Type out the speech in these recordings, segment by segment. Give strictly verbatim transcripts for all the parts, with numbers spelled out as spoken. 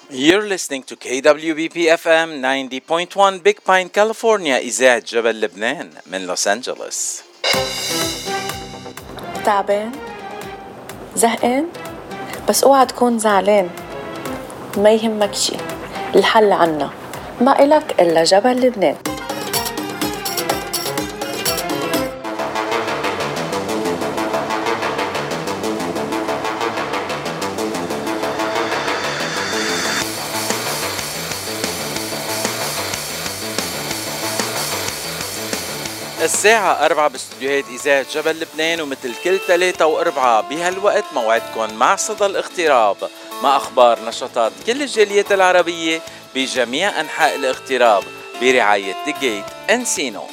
You're listening to K W B P F M ninety point one Big Pine, California. إذاعة جبل لبنان من لوس أنجلوس. تعبان؟ زهقان؟ بس اوعى تكون زعلان. ما يهمك شي، الحل عنا، ما إلك إلا جبل لبنان. الساعة أربعة باستديوهات إذاعة جبل لبنان، ومثل كل ثلاثة وأربعة بهالوقت موعدكم مع صدى الاغتراب، مع أخبار نشاطات كل الجاليات العربية بجميع أنحاء الاغتراب برعاية The Gate Encino.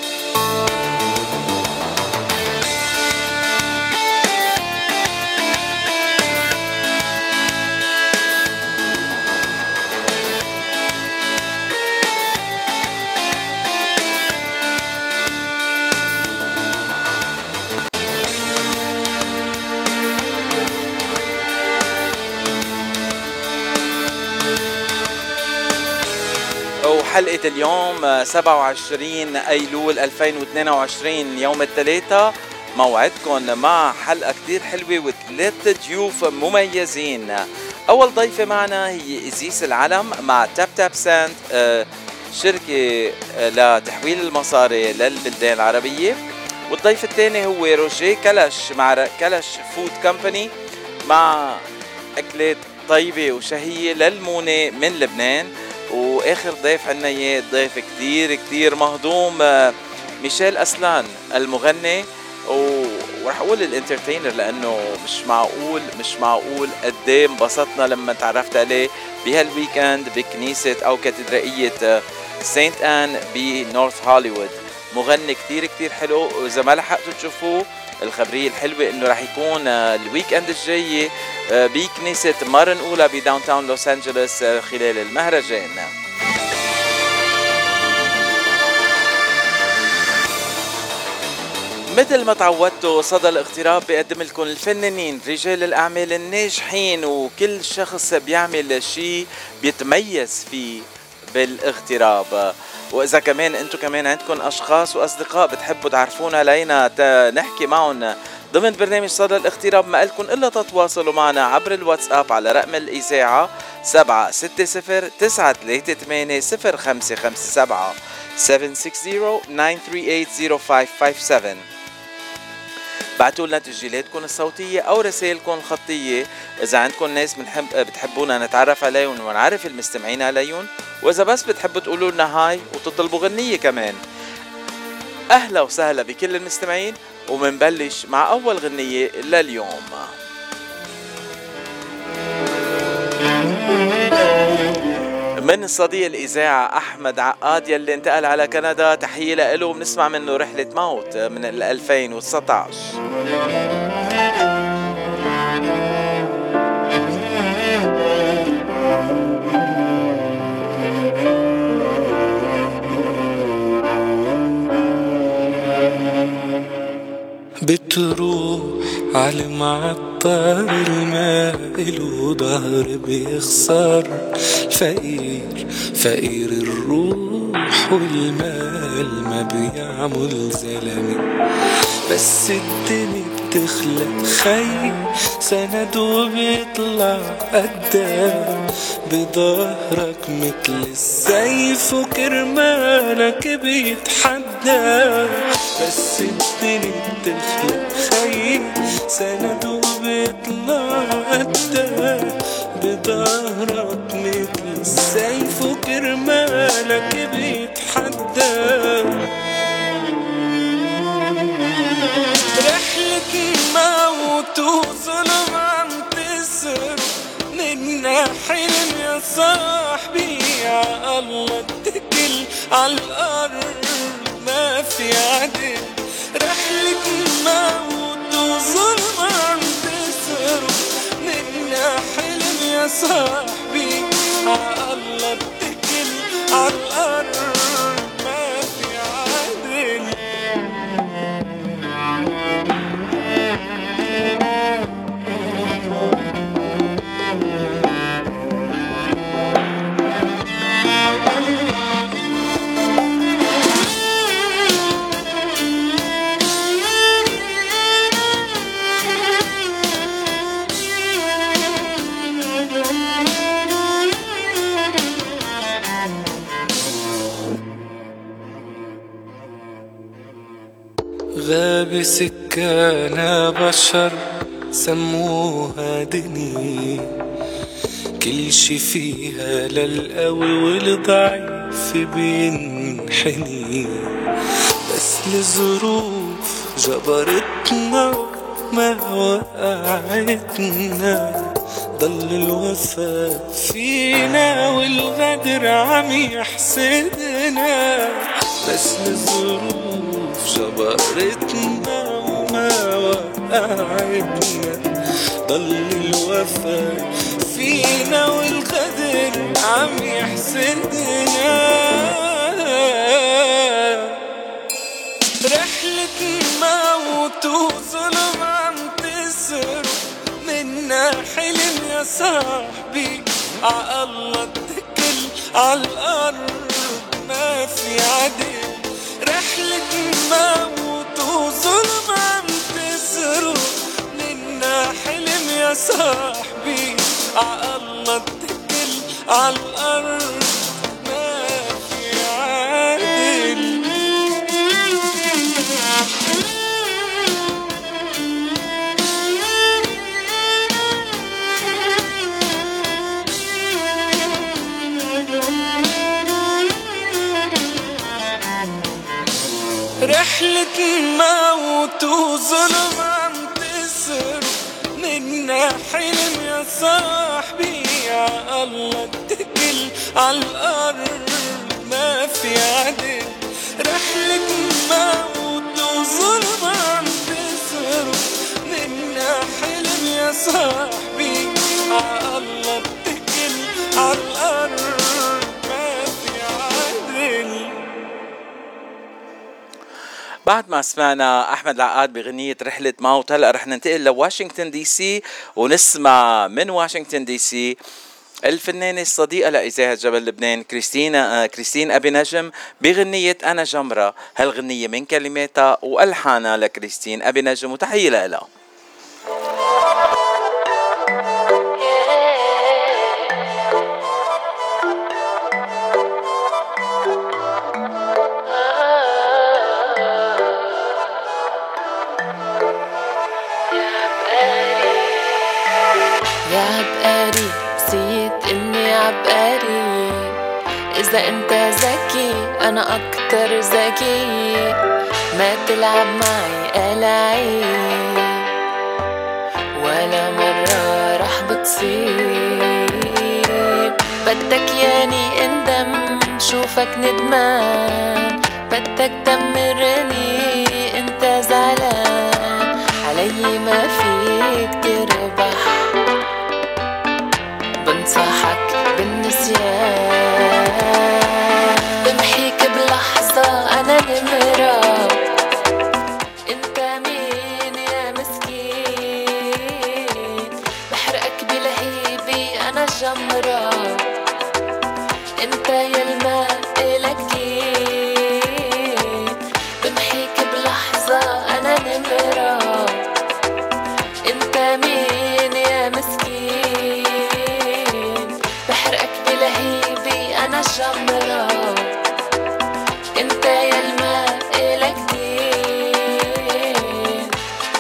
حلقة اليوم سبعة وعشرين أيلول ألفين واثنين وعشرين يوم الثلاثاء، موعدكم مع حلقة كتير حلوة وثلاث ضيوف مميزين. أول ضيفة معنا هي إزيس العلم مع تاب تاب ساند، شركة لتحويل المصاري للبلدان العربية. والضيف الثاني هو روجيه كلش مع كلش فود كمباني، مع أكلات طيبة وشهية للمونة من لبنان. واخر ضيف عنا اياه ضيف كتير كتير مهضوم، ميشيل أسلان المغني، ورح اقول الانترتينر لانه مش معقول مش معقول قد ايه انبسطنا لما تعرفت عليه بهالويكند بكنيسة او كاتدرائية سانت آن بنورث هوليوود. مغني كتير كتير حلو، واذا ما لحقتوا تشوفوه الخبرية الحلوة انه راح يكون الويكند الجاي بكنيسة مارن أولى بداون تاون لوس أنجلوس خلال المهرجان. مثل ما تعودتوا صدى الاغتراب بيقدم لكم الفنانين، رجال الأعمال الناجحين، وكل شخص بيعمل شيء بيتميز فيه بالاغتراب. وإذا كمان أنتم كمان عندكم أشخاص وأصدقاء بتحبوا تعرفونا لينا نحكي معهم ضمن برنامج صدى الاغتراب، ما لكم إلا تتواصلوا معنا عبر الواتساب على رقم الإذاعة سبعة ستة صفر تسعة ثلاثة ثمانية صفر خمسة خمسة سبعة سبعة ستة صفر تسعة ثلاثة ثمانية صفر خمسة خمسة سبعة. بعتوا لنا تسجيلاتكم الصوتية أو رسائلكم الخطية إذا عندكم ناس بنحب بتحبونا نتعرف عليهم ونعرف المستمعين عليهم، وإذا بس بتحبوا تقولوا لنا هاي وتطلبوا غنية كمان. أهلا وسهلا بكل المستمعين، ومنبلش مع أول غنية لليوم. من صديق الإذاعة أحمد عقاد يلي انتقل على كندا، تحية له وبنسمع منه رحلة موت من ألفين وتسعة عشر. بتروح على معطر المائل وظهر بيخسر، فقير فقير الروح والمال ما بيعمل زلمة، بس الدنيا بتخلق خي سند وبيطلع قدام بظهرك مثل السيف وكرمالك بيتحدى، بس الدنيا بتخلق خي سند وبيطلع قدام بظهرك مثل السيف وكرمالك بيتحدى. رحلة موت وظلم عم تصرف منا حلم يا صاحبي، يا الله اتكل عالأرض ما في عدل. رحلة موت وظلم عم تصرف منا حلم يا صاحبي، يا الله اتكل عالأرض ما في عدل. بسكانة بشر سموها دنيا، كل شي فيها للقوي والضعيف بينحني، بس الظروف جبرتنا ما وقعتنا، ضل الوفا فينا والغدر عم يحسدنا، بس الظروف جبرتنا وما وقعتنا، ضل الوفا فينا والغدر عم يحسدنا. رحلة موت وظلم عم تسرق منا حلم يا صاحبي، عالله اتكل عالأرض ما في عدل. رحلة موت وظلم عم تسرق منا حلم يا صاحبي، عالله اتكل عالأرض ما في عدل. رحلة موت وظلم عم تسرق منا حلم يا صاحبي، عالله اتكل عالأرض ما في عدل. رحلة موت وظلم عم تسرق منا حلم يا صاحبي، عالله اتكل عالأرض ما في عدل. بعد ما سمعنا أحمد العقاد بغنية رحلة موت، هلأ رح ننتقل لواشنطن دي سي ونسمع من واشنطن دي سي الفنانة الصديقة لإذاعة جبل لبنان كريستين آه كريستين أبي نجم بغنية أنا جمرة. هالغنية من كلماتها وألحانها لكريستين أبي نجم، وتحية لها. إذا أنت ذكي أنا أكتر ذكي، ما تلعب معي ألعاب ولا مرة رح بتصيب. بدك ياني اندم شوفك ندمان، بدك تمرني انت زعلان، علي ما فيك تربح، بنصحك بالنسيان، بمحيك بلحظة أنا نمرة، انت مين يا مسكين، بحرقك بلهيبي أنا جمرة، انت يالماء إلكين، بمحيك بلحظة أنا نمرة، انت مين يا مسكين، بحرقك بلهيبي أنا جمرة، انت يالماء إلكين.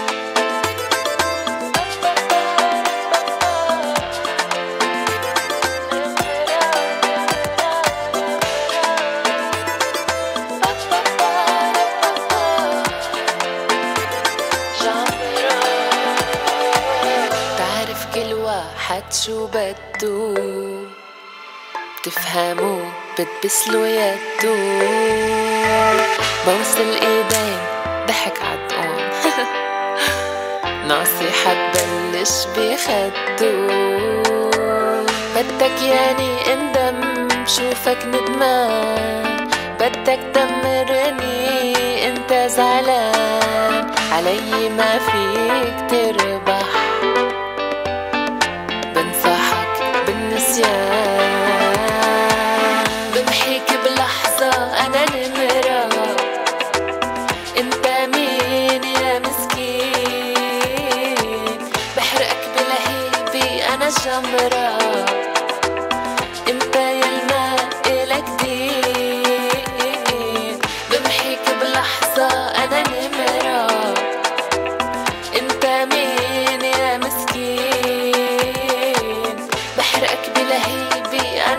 تعرف كل واحد شو بدو، بتفهمو بتبسلو يدو، بوصل ايدين ضحك عالطقون نصيحة تبلش بخدو، بدك ياني اندم شوفك ندمان، بدك تمرني انت زعلان، علي ما فيك تربح، بنصحك بالنسيان، بمحيك بلحظة أنا نمرة، انت مين يا مسكين، بحرقك بلهيبي أنا جمرة، انت يالماء إلك دين، بمحيك بلحظة أنا نمرة،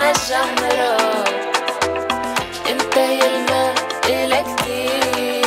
جمرة انت يلمع إلك كتير.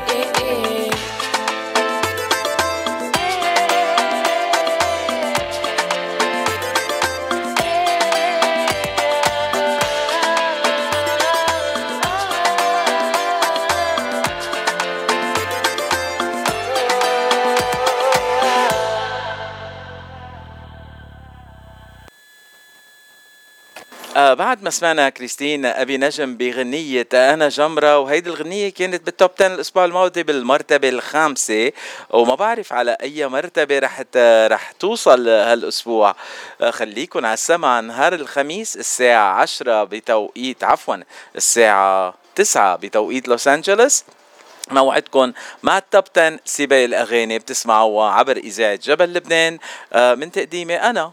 آه بعد ما سمعنا كريستين أبي نجم بغنية أنا جمرة، وهيدي الغنية كانت بالتوب عشرة الأسبوع الماضي بالمرتبة الخامسة، وما بعرف على أي مرتبة رح رح توصل هالأسبوع. آه خليكن على السمع نهار الخميس الساعة عشرة بتوقيت عفوا الساعة تسعة بتوقيت لوس أنجلوس، موعدكم مع التوب عشرة سباق الأغاني بتسمعوها عبر إذاعة جبل لبنان آه من تقديمي أنا.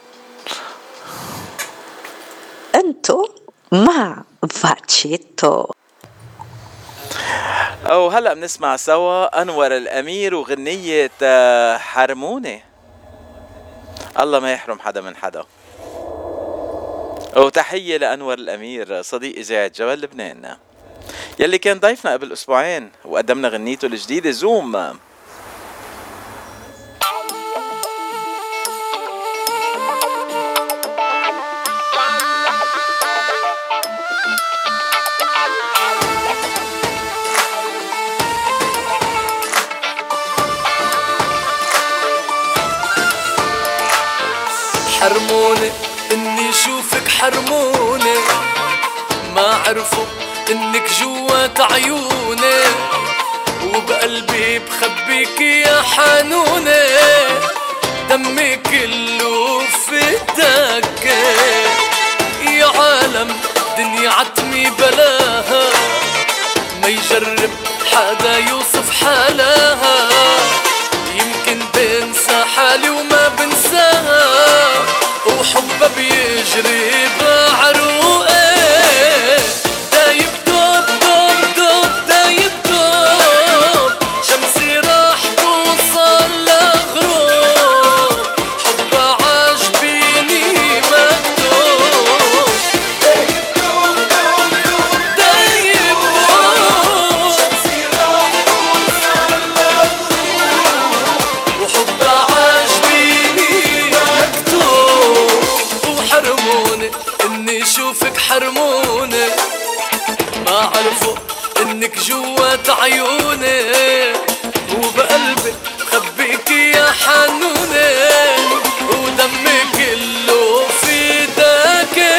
انتو مع فاتشيتو. او هلا بنسمع سوا انور الامير وغنية حرموني. الله ما يحرم حدا من حدا. وتحية لانور الامير صديق اذاعة جبل لبنان يلي كان ضيفنا قبل اسبوعين وقدمنا غنيته الجديدة زوم. حرموني اني شوفك حرموني، ما عرفوا انك جوات عيوني، وبقلبي بخبيك يا حنوني، دمي كله فداك يا عالم دنيا عتمي بلاها، ما يجرب حدا يوصف حالها، يمكن بنسى حالي وما بنساها، وحبها بيجري بعروقي، دايب دوب دوب دوب دايب دوب، شمسي راح توصل لغروب، حبها عاجبيني مكتوب، دايب دوب دوب دوب دايب دوب، شمسي راح توصل لغروب، وحبها عاجبيني مكتوب. وحرموني اني شوفك حرموني، ما عرفوا انك جوات عيوني، وبقلبي خبيك يا حنوني، ودمي كله فداك.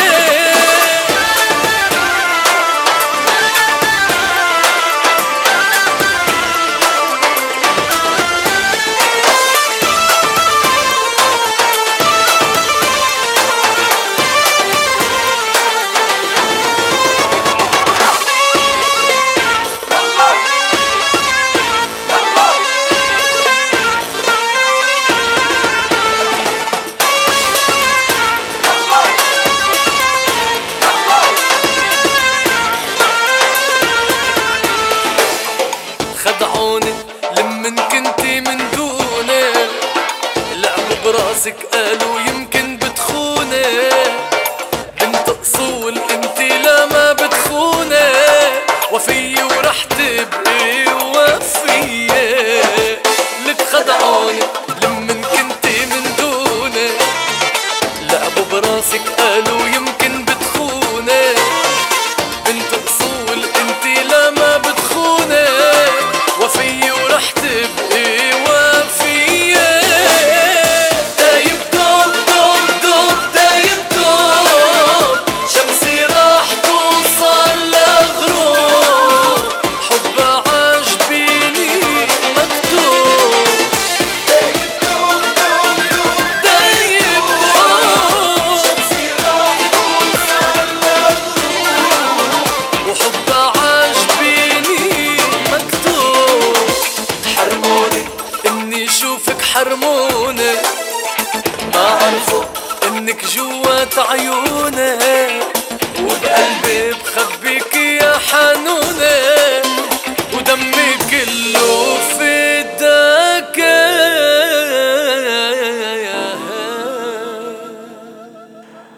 خدعوني لمن كنتي من دوني، لعبوا براسك قالوا يمكن بتخوني، بنت اصول انتي لا ما بتخوني، وفيي ورح تبقي وفيي. لك خدعوني لمن كنتي من دوني، لعبوا براسك قالوا يمكن بتخوني، بنت اصول انتي لا ما بتخوني، وفيي ورح تبقي وفيي. دايب دوب دوب دوب دايب دوب، شمسي راح توصل لغروب، حبها عاجبيني مكتوب، دايب دوب دوب دوب دايب دوب، شمسي راح توصل لغروب، وحبها عاجبيني مكتوب. حرموني اني شوفك حرموني، ما عرفوا انك جوات عيوني، وبقلبي بخبيك يا حنوني، ودمي كله فداك. او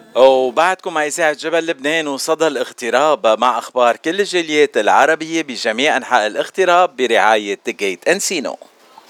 وبعدكم مع إذاعة جبل لبنان وصدى الاغتراب مع أخبار كل الجاليات العربية بجميع أنحاء الاغتراب برعاية جيت أنسينو.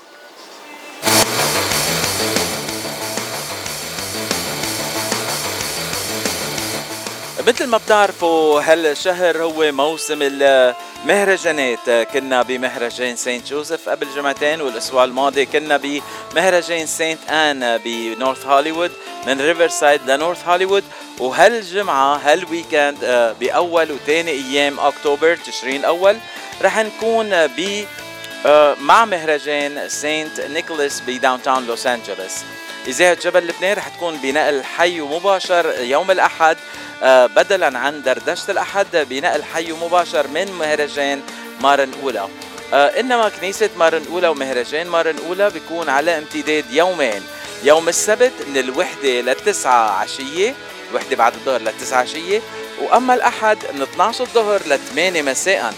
مثل ما بتعرفوا هالشهر هو موسم المهرجانات. كنا بمهرجان سانت جوزيف قبل جمعتين، والأسبوع الماضي كنا بمهرجان سانت آن بنورث هوليوود، من ريفر سايد لنورث هوليوود. وهالجمعة هالويكند بأول وثاني أيام أكتوبر تشرين الأول رح نكون ب مع مهرجان سانت نيكولاس بداون تاون لوس أنجلوس. إذاعة جبل لبنان رح تكون بنقل حي ومباشر يوم الأحد، بدلا عن دردشة الأحد بنقل حي مباشر من مهرجان مارن أولى. إنما كنيسة مارن أولى ومهرجان مارن أولى بيكون على امتداد يومين، يوم السبت من الوحدة للتسعة عشية، الوحدة بعد الظهر للتسعة عشية، وأما الأحد من اثناشر الظهر لثمانية مساء.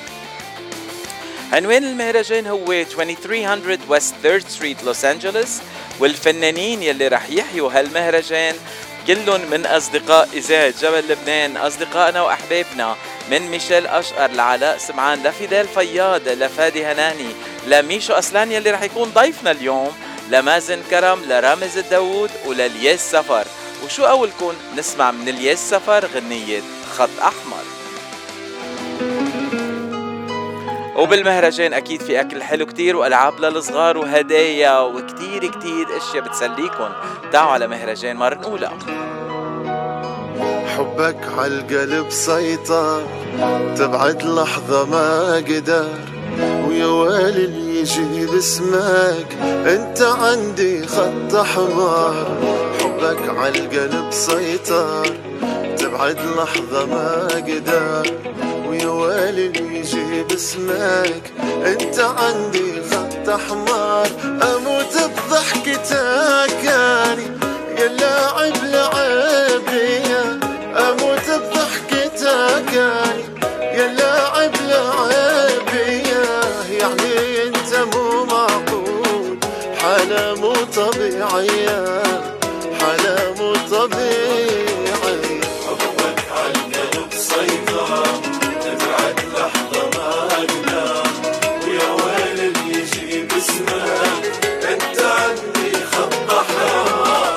عنوان المهرجان هو ثلاثمية وست ثيرد ستريت لوس أنجلوس، والفنانين يلي رح يحيوا هالمهرجان كلهم من أصدقاء إذاعة جبل لبنان، أصدقائنا وأحبابنا، من ميشيل أشقر لعلاء سمعان لفيدال فياض لفادي هناني لميشو أسلان يلي رح يكون ضيفنا اليوم، لمازن كرم، لرامز الداوود، وللياس سفر. وشو أولكم نسمع من الياس سفر غنية خط أحمر. وبالمهرجان أكيد في أكل حلو كتير وألعاب للصغار وهدايا وكتير كتير أشياء بتسليكن. تعالوا على مهرجان مارن أولى. حبك عالقلب سيطر، تبعد لحظة ما قدر، ويا ويلي اللي يجي باسمك انت عندي خط احمر. حبك عالقلب سيطر، تبعد لحظة ما قدر، ويا ويلي اللي يجي باسمك انت عندي خط احمر. اموت بضحكتك يعني يا لاعب لعبي، اموت بضحكتك يعني يا لاعب لعبي، يعني انت مو معقول، حالة مو طبيعية، حالة مو طبيعية. حبك عالقلب سيطر، تبعد لحظة ما أقدر، ويا ويل اللي يجي باسمك انت عندي خط أحمر.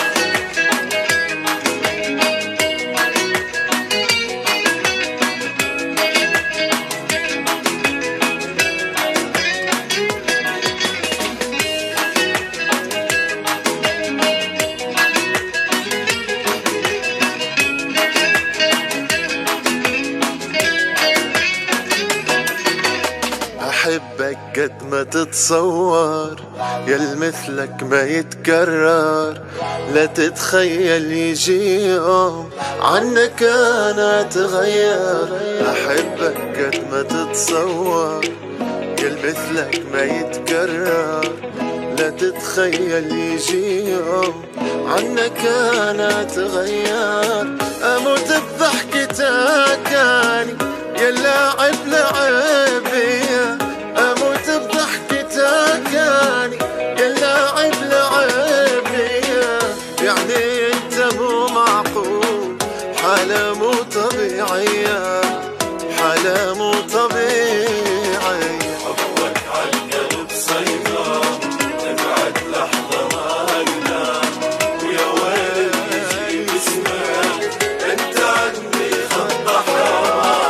أحبك قد ما تتصور، يا مثلك ما يتكرر، لا تتخيل يجي يوم عنك أنا أتغير. أحبك قد ما تتصور، يا مثلك ما يتكرر، لا تتخيل يجي يوم عنك أنا أتغير. أموت بضحكتك يعني يا لاعب لعبي، أموت بضحكتك يعني يا لاعب لعبي، يعني أنت مو معقول، حالة مو طبيعية، حالة مو طبيعية. حبك عالقلب سيطر، تبعد لحظة ما أقدر، ويا ويل يجي باسمك أنت عندي خط أحمر.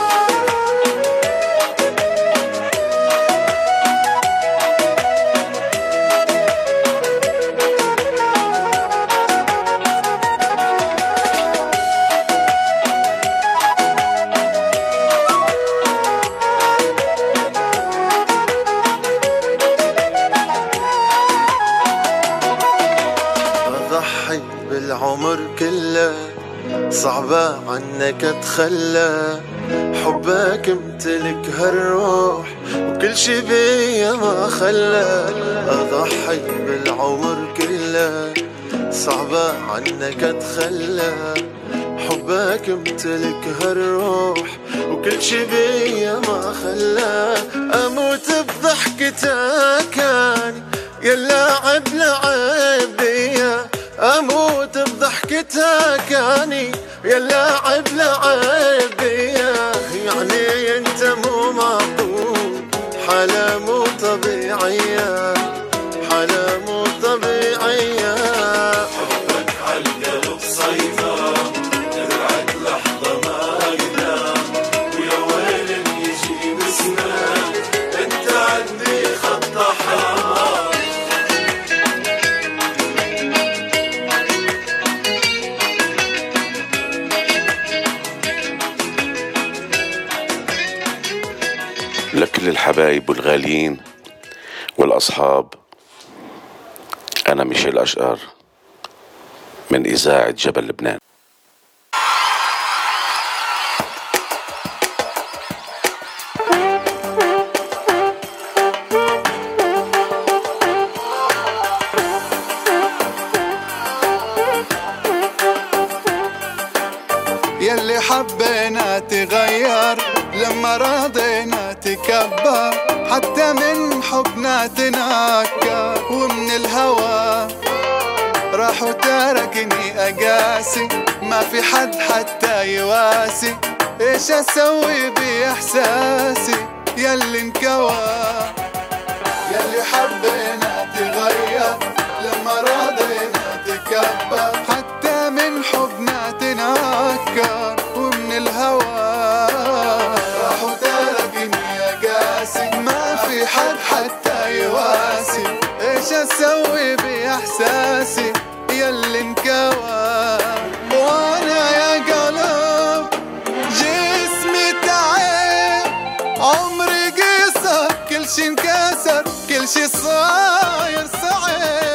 بالعمر كله صعبة عنك اتخلى، حبك امتلك هالروح وكل شي بيا ما خلى. اضحي بالعمر كله صعبة عنك اتخلى، حبك امتلك هالروح وكل شي بيا ما خلى. اموت بضحكتك يعني يا لاعب لعبي، اموت بضحكتك بتهاكاني يا اللاعب لعب بيا، يعني انت مو معقول، حالة مو طبيعية، حالة مو طبيعية. حبك عالقلب سيطر، ترعد لحظة ما أقدر، ويا ويل يجي بسنان، انت عندي خط أحمر. لكل الحبايب والغاليين والأصحاب، أنا ميشيل أشقر من إذاعة جبل لبنان. يلي حبينا تغير لما راضينا تكبر، حتى من حبنا تنكر، ومن الهوى راح وتركني أقاسي، ما في حد حتى يواسي، ايش اسوي بإحساسي يلي انكوى. يلي حبينا تغير لما راضينا تكبر، حتى من حبنا تنكر، ومن الهوى راح وتركني أقاسي، ما في حد حتى يواسي، ايش اسوي بإحساسي يلي انكوى. وانا يا قلب جسمي تعب، عمري قصر، كل شي انكسر، كل شي صاير صعب.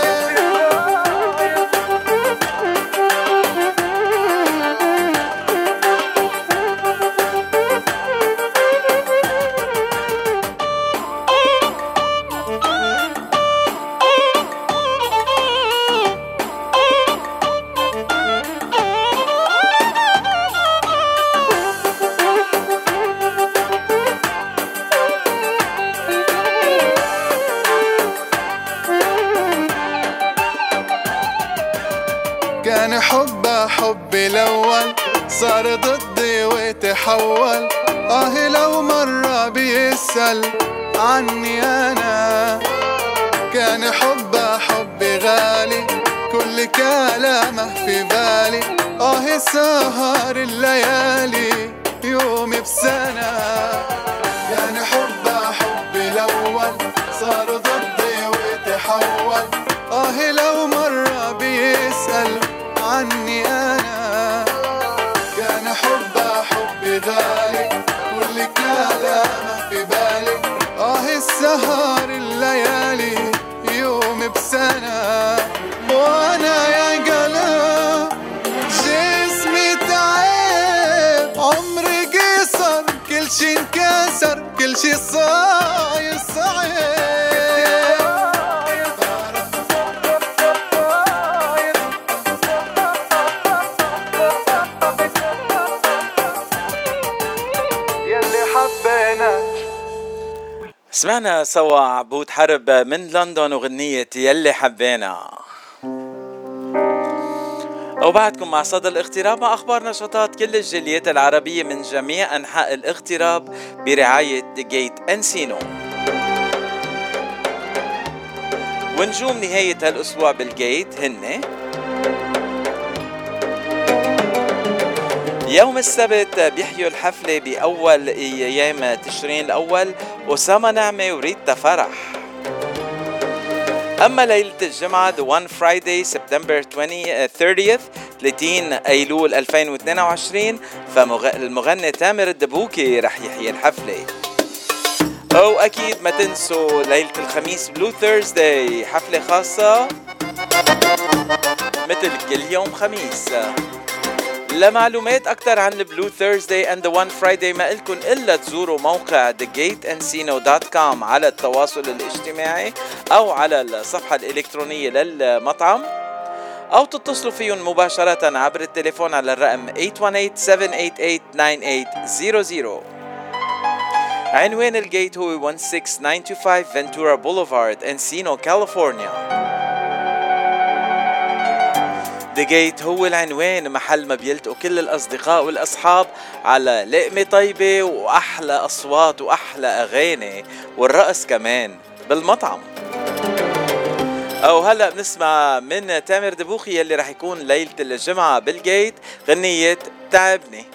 كان حبه حبي الأول، صار ضدي وتحول، آه لو مرة بيسأل عني أنا. كان حبه حبي غالي، كل كلامه في بالي، آه سهر الليالي يومي بسنة. كان حبه حبي الأول، صار ضدي وتحول، آه لو مرة بيسأل عني أنا. كان حبه حبي غالي، كل كلامه في بالي، آه السهر الليالي يوم بسنة. وأنا يا قلب جسمي تعب، عمري قصر، كل شي انكسر، كل شي صاير صعب. سمعنا سوا عبود حرب من لندن وغنية يلي حبينا. وبعدكم مع صدى الاغتراب مع أخبار نشاطات كل الجاليات العربية من جميع أنحاء الاغتراب برعاية جيت أنسينو. ونجوم نهاية هالأسبوع بالجيت هن يوم السبت بيحيوا الحفلة بأول أيام تشرين الأول أسامة نعمة وريتا فرح. أما ليلة الجمعة The One Friday September thirtieth ثلاثين أيلول ألفين واثنين وعشرين فالمغني تامر الدبوكي رح يحيي الحفلة. أو أكيد ما تنسوا ليلة الخميس بلو ثيرزداي حفلة خاصة مثل كل يوم خميس. لمعلومات أكتر عن البلو ثيرزداي and the one Friday ما إلكن إلا تزوروا موقع ذا جيت انسينو دوت كوم على التواصل الاجتماعي أو على الصفحة الإلكترونية للمطعم، أو تتصلوا فيهم مباشرة عبر التليفون على الرقم eight one eight seven eight eight nine eight zero zero. عنوان الجيت هو one six nine two five Ventura Boulevard, Encino, كاليفورنيا. The Gate هو العنوان، محل ما بيلتقوا كل الأصدقاء والأصحاب على لقمة طيبة وأحلى أصوات وأحلى أغاني والرقص كمان بالمطعم. أو هلأ بنسمع من تامر دبوخي يلي رح يكون ليلة الجمعة بالجيت غنية تعبني.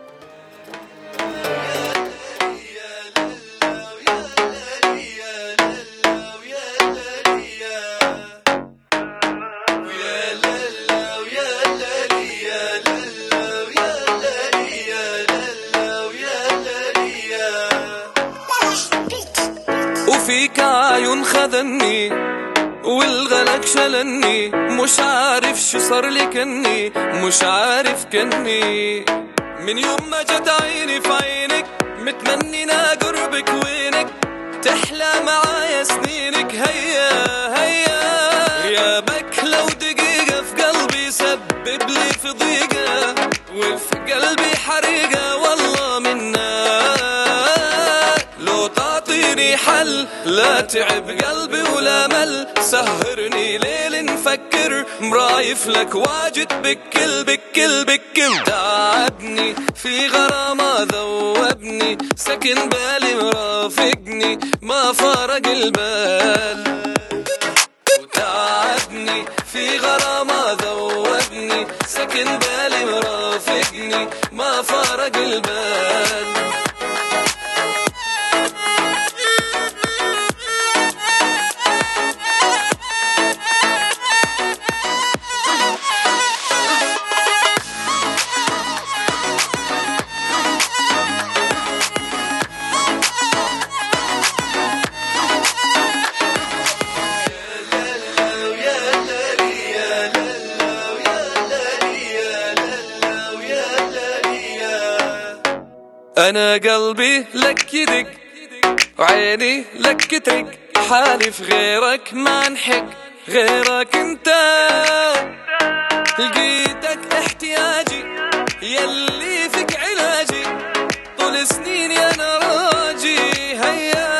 وفيك عيون خذني والغلق شلني، مش عارف شو صار لي كني، مش عارف كني من يوم ما جت عيني في عينك، متمنينا قربك وينك، تحلى معايا سنينك. هيا هيا غيابك لو دقيقة في قلبي سبب لي في ضيقة، وفي قلبي حريقة والله منك. لو تعطيني حل لا تعب قلبي ولا مل، سهرني ليل نفكر مرايف لك واجد بكل بكل بكل. تعبني في غرامة ذوبني، سكن بالي مرافقني ما فارق البال. وتعبني في غرامة ذوبني، سكن بالي مرافقني ما فارق البال. أنا قلبي لك يدق وعيني لك ترق، حالي في غيرك ما انحق، غيرك انت لقيتك احتياجي، يلي فيك علاجي، طول سنيني أنا راجي. هيا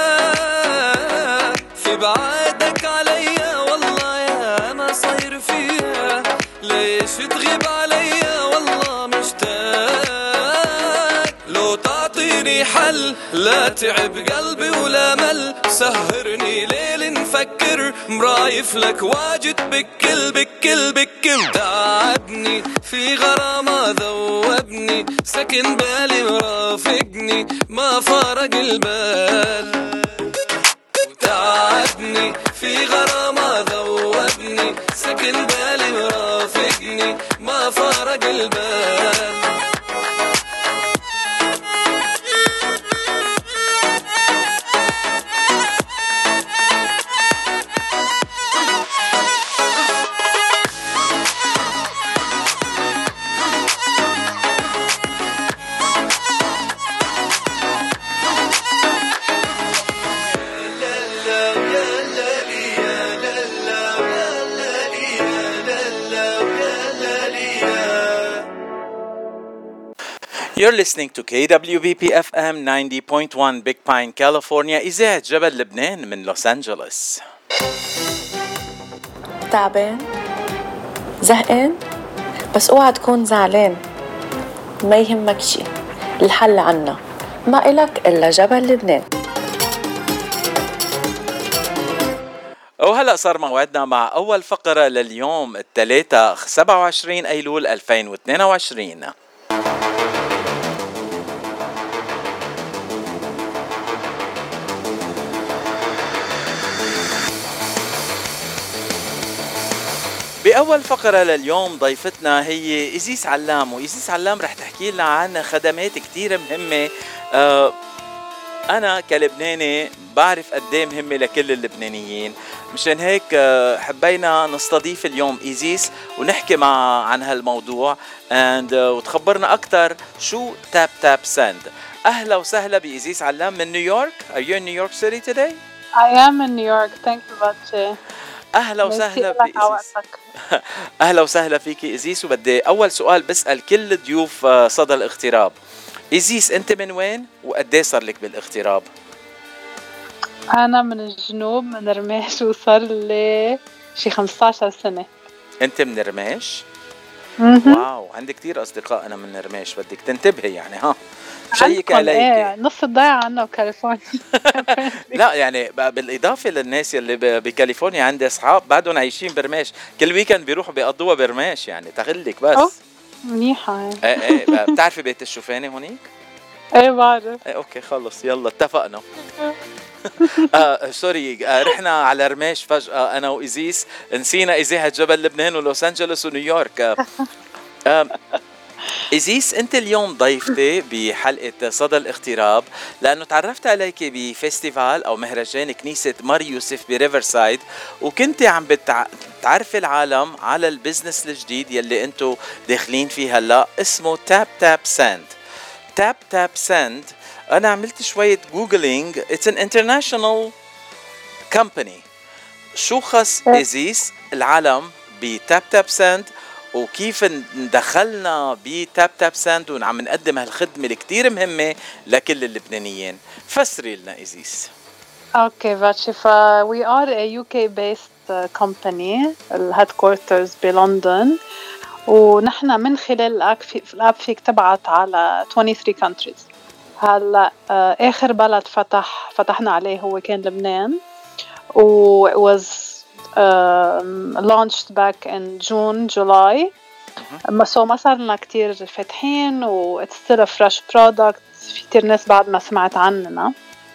في بعادك عليا والله يا ما صاير فيها، ليش تغيب عليا والله مشتاق. لو تعطيني حل لا تعب قلبي ولا مل، سهرني ليل نفكر مرايف لك واجد بكل بكل بكل. تعبني في غرامة ذوبني، سكن بالي مرافقني ما فارق البال. تعبني في غرامة ذوبني، سكن بالي مرافقني ما فارق البال. You're listening to K W B P F M ninety point one Big Pine, California. إذاعة جبل لبنان من لوس أنجلوس. تعبان؟ زهقان؟ بس اوعى تكون زعلان، ما يهمك شي، الحل عنا، ما إلك إلا جبل لبنان. وهلأ صار موعدنا مع أول فقرة لليوم الثلاثاء سبعة وعشرين أيلول ألفين واثنين وعشرين. بأول فقرة لليوم ضيفتنا هي إزيس علام، وإزيس علام رح تحكي لنا عن خدمات كتير مهمة. أه أنا كلبناني بعرف قديه مهمة لكل اللبنانيين، مشان هيك حبينا نستضيف اليوم إزيس ونحكي مع عن هالموضوع and, uh, وتخبرنا أكتر شو تاب تاب سند. أهلا وسهلا بإزيس علام من نيويورك. Are you in New York City today? I am in New York. Thank you much. أهلا وسهلا بإزيس. أهلا وسهلا فيكي إزيس. وبدي أول سؤال بسأل كل ضيوف صدى الاغتراب. إزيس أنت من وين وقديه صار لك بالاغتراب؟ أنا من الجنوب، من رميش، وصار لي شي خمسة عشر سنة. أنت من رميش؟ مهم. واو، عندي كتير اصدقاء انا من رميش، بدك تنتبهي يعني. ها شيك عندكم ايه عليك. نص الضيعة عنا بكاليفورنيا. لا يعني ب- بالاضافه للناس اللي ب- بكاليفورنيا، عندي اصحاب بعدهم عايشين برميش، كل ويكند بيروحوا بيقضوها برميش، يعني تغلك أوه بس. منيحة يعني. ايه ايه ب- بتعرفي بيت الشوفاني هونيك؟ ايه بعرف. ايه اوكي خلص يلا اتفقنا. آه سوري، آه رحنا على رميش فجأة أنا وإيزيس، نسينا إذاعة جبل لبنان ولوس أنجلوس ونيويورك. آه آه إيزيس، أنت اليوم ضيفتي بحلقة صدى الاغتراب، لأنه تعرفت عليك بفestival أو مهرجان كنيسة مار يوسف بريفرسايد، وكنت عم بتع... تعرفي العالم على البزنس الجديد يلي أنتو داخلين فيه هلا، اسمه تاب تاب ساند. تاب تاب ساند، أنا عملت شوية جوجلينج، it's an international company. شو خص إيزيس العالم بتاب تاب ساند، وكيف دخلنا بتاب تاب ساند وعم نقدم هالخدمة الكتير مهمة لكل اللبنانيين؟ فسري لنا إيزيس. اوكي فاتشي، ف we are a U K based uh, company، ال headquarters بلندن، ونحن من خلال الاب في الاب فيك تبعت على twenty-three countries. هلا آه، اخر بلد فتح فتحنا عليه هو كان لبنان، و it was um, launched back in June July. اما سو ما صار لنا كتير فاتحين، و it's still a fresh product، في كتير ناس بعد ما سمعت عننا.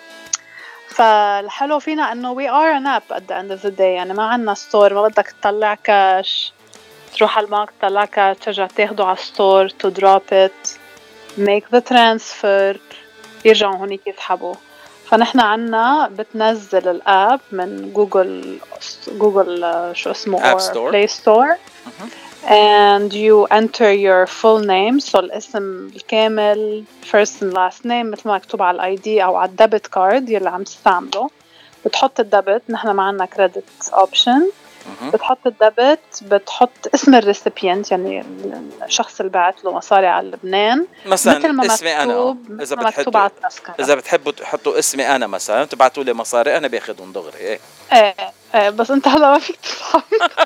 فالحلو فينا انه we are an app at the end of the day، يعني ما عنا ستور، ما بدك تطلع كاش تروح على البنك تطلع كاش ترجع تاخده على الستور to drop it make the transfer يرجعوا هونيك يسحبوا. فنحن عنا بتنزل الاب من جوجل جوجل آه، شو اسمه App or Store. Play Store and you enter your full name، so الاسم الكامل first and last name مثل ما مكتوب على الاي دي او على الدبت كارد يلي عم تستعمله. بتحط الدبت، نحن ما عنا كريدت اوبشن، بتحط الدبت، بتحط اسم الريسيبيانت يعني الشخص اللي بعت له مصاري على لبنان، مثلا مثل ما اسمي أنا، مكتوب إذا مثل ما مكتوب على بتحطوا التذكرة. إذا بتحبوا تحطوا اسمي أنا مثلا تبعتوا لي مصاري، أنا باخدهم دغري. إيه ايه ايه بس انت هلا ما فيك تسحب.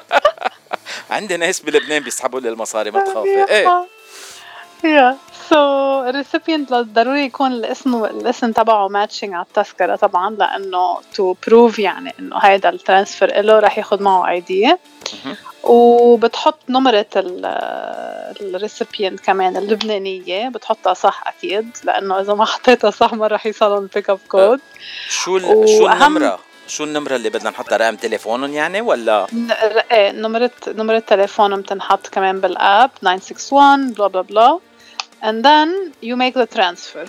عندي ناس بلبنان بيسحبوا لي المصاري، ما تخافي. إيه يا سو الريسيبيانت ضروري يكون الاسم الاسم تبعه ماتشنج على التذكرة طبعا، لأنه تو بروف يعني إنه هيدا الترانسفير إله رح ياخد معه اي دي. وبتحط نمرة الريسيبيانت كمان اللبنانية، بتحطها صح أكيد، لأنه إذا ما حطيتها صح ما رح يوصلهم البيك اب كود. شو ال... شو النمرة شو النمرة اللي بدنا نحطها؟ رقم تليفونهم يعني ولا؟ ايه نمرة نمرة تليفونهم بتنحط كمان بالاب nine six one blah blah blah and then you make the transfer.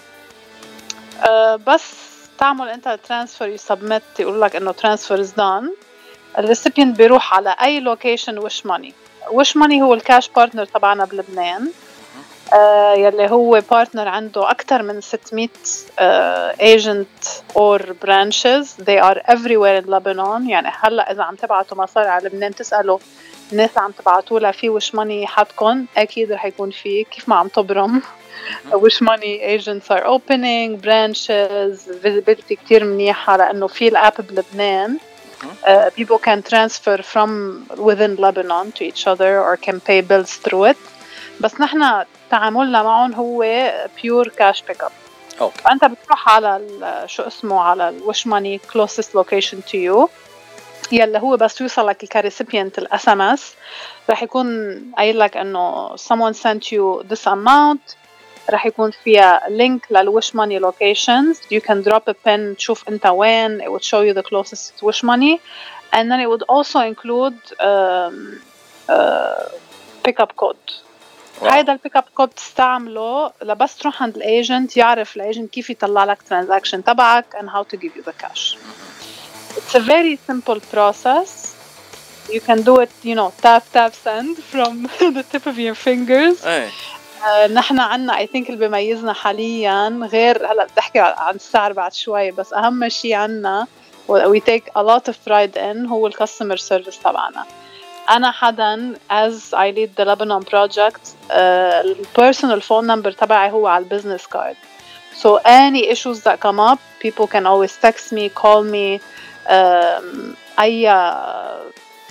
uh, بس تعمل انت الترانسفير you submit يقول لك انه transfer is done. الريسيبيانت بيروح على اي لوكيشن وش ماني. وش ماني هو الكاش بارتنر تبعنا بلبنان، uh, يلي هو بارتنر عنده أكتر من ستمية uh, agent or branches. they are everywhere in Lebanon. يعني هلأ إذا عم تبعتوا مصاري على لبنان تسألوا الناس عم تبعتوا لها في وش ماني حدكن، أكيد رح يكون في، كيف ما عم تبرم وش ماني agents are opening branches visibility كتير منيحة، لأنه في الأب بلبنان Uh, people can transfer from within Lebanon to each other or can pay bills through it. بس نحن تعاملنا معهم هو pure cash pickup. okay. فأنت بتروح على شو اسمه على الوش ماني closest location to you، يلي هو بس يوصلك كريسيبيانت الاس ام اس رح يكون قايل لك انه someone sent you this amount، رح يكون فيها link للوش ماني locations. you can drop a pin تشوف انت وين، it would show you the closest wish money and then it would also include um, uh, pickup code. هيدا البيك اب كود تستعمله لبس تروح عند الايجنت يعرف الايجنت كيف يطلع لك transaction تبعك and how to give you the cash. It's a very simple process. You can do it, you know, tap tap send from the tip of your fingers. أي. uh, نحن عنا I think اللي بيميزنا حاليا غير هلا بدي احكي عن السعر بعد شوي، بس اهم شيء عنا we take a lot of pride in هو الكاستمر سيرفيس تبعنا. أنا حدا as I lead the Lebanon project uh, personal phone number تبعي هو على business card. So any issues that come up, people can always text me, call me. um, أي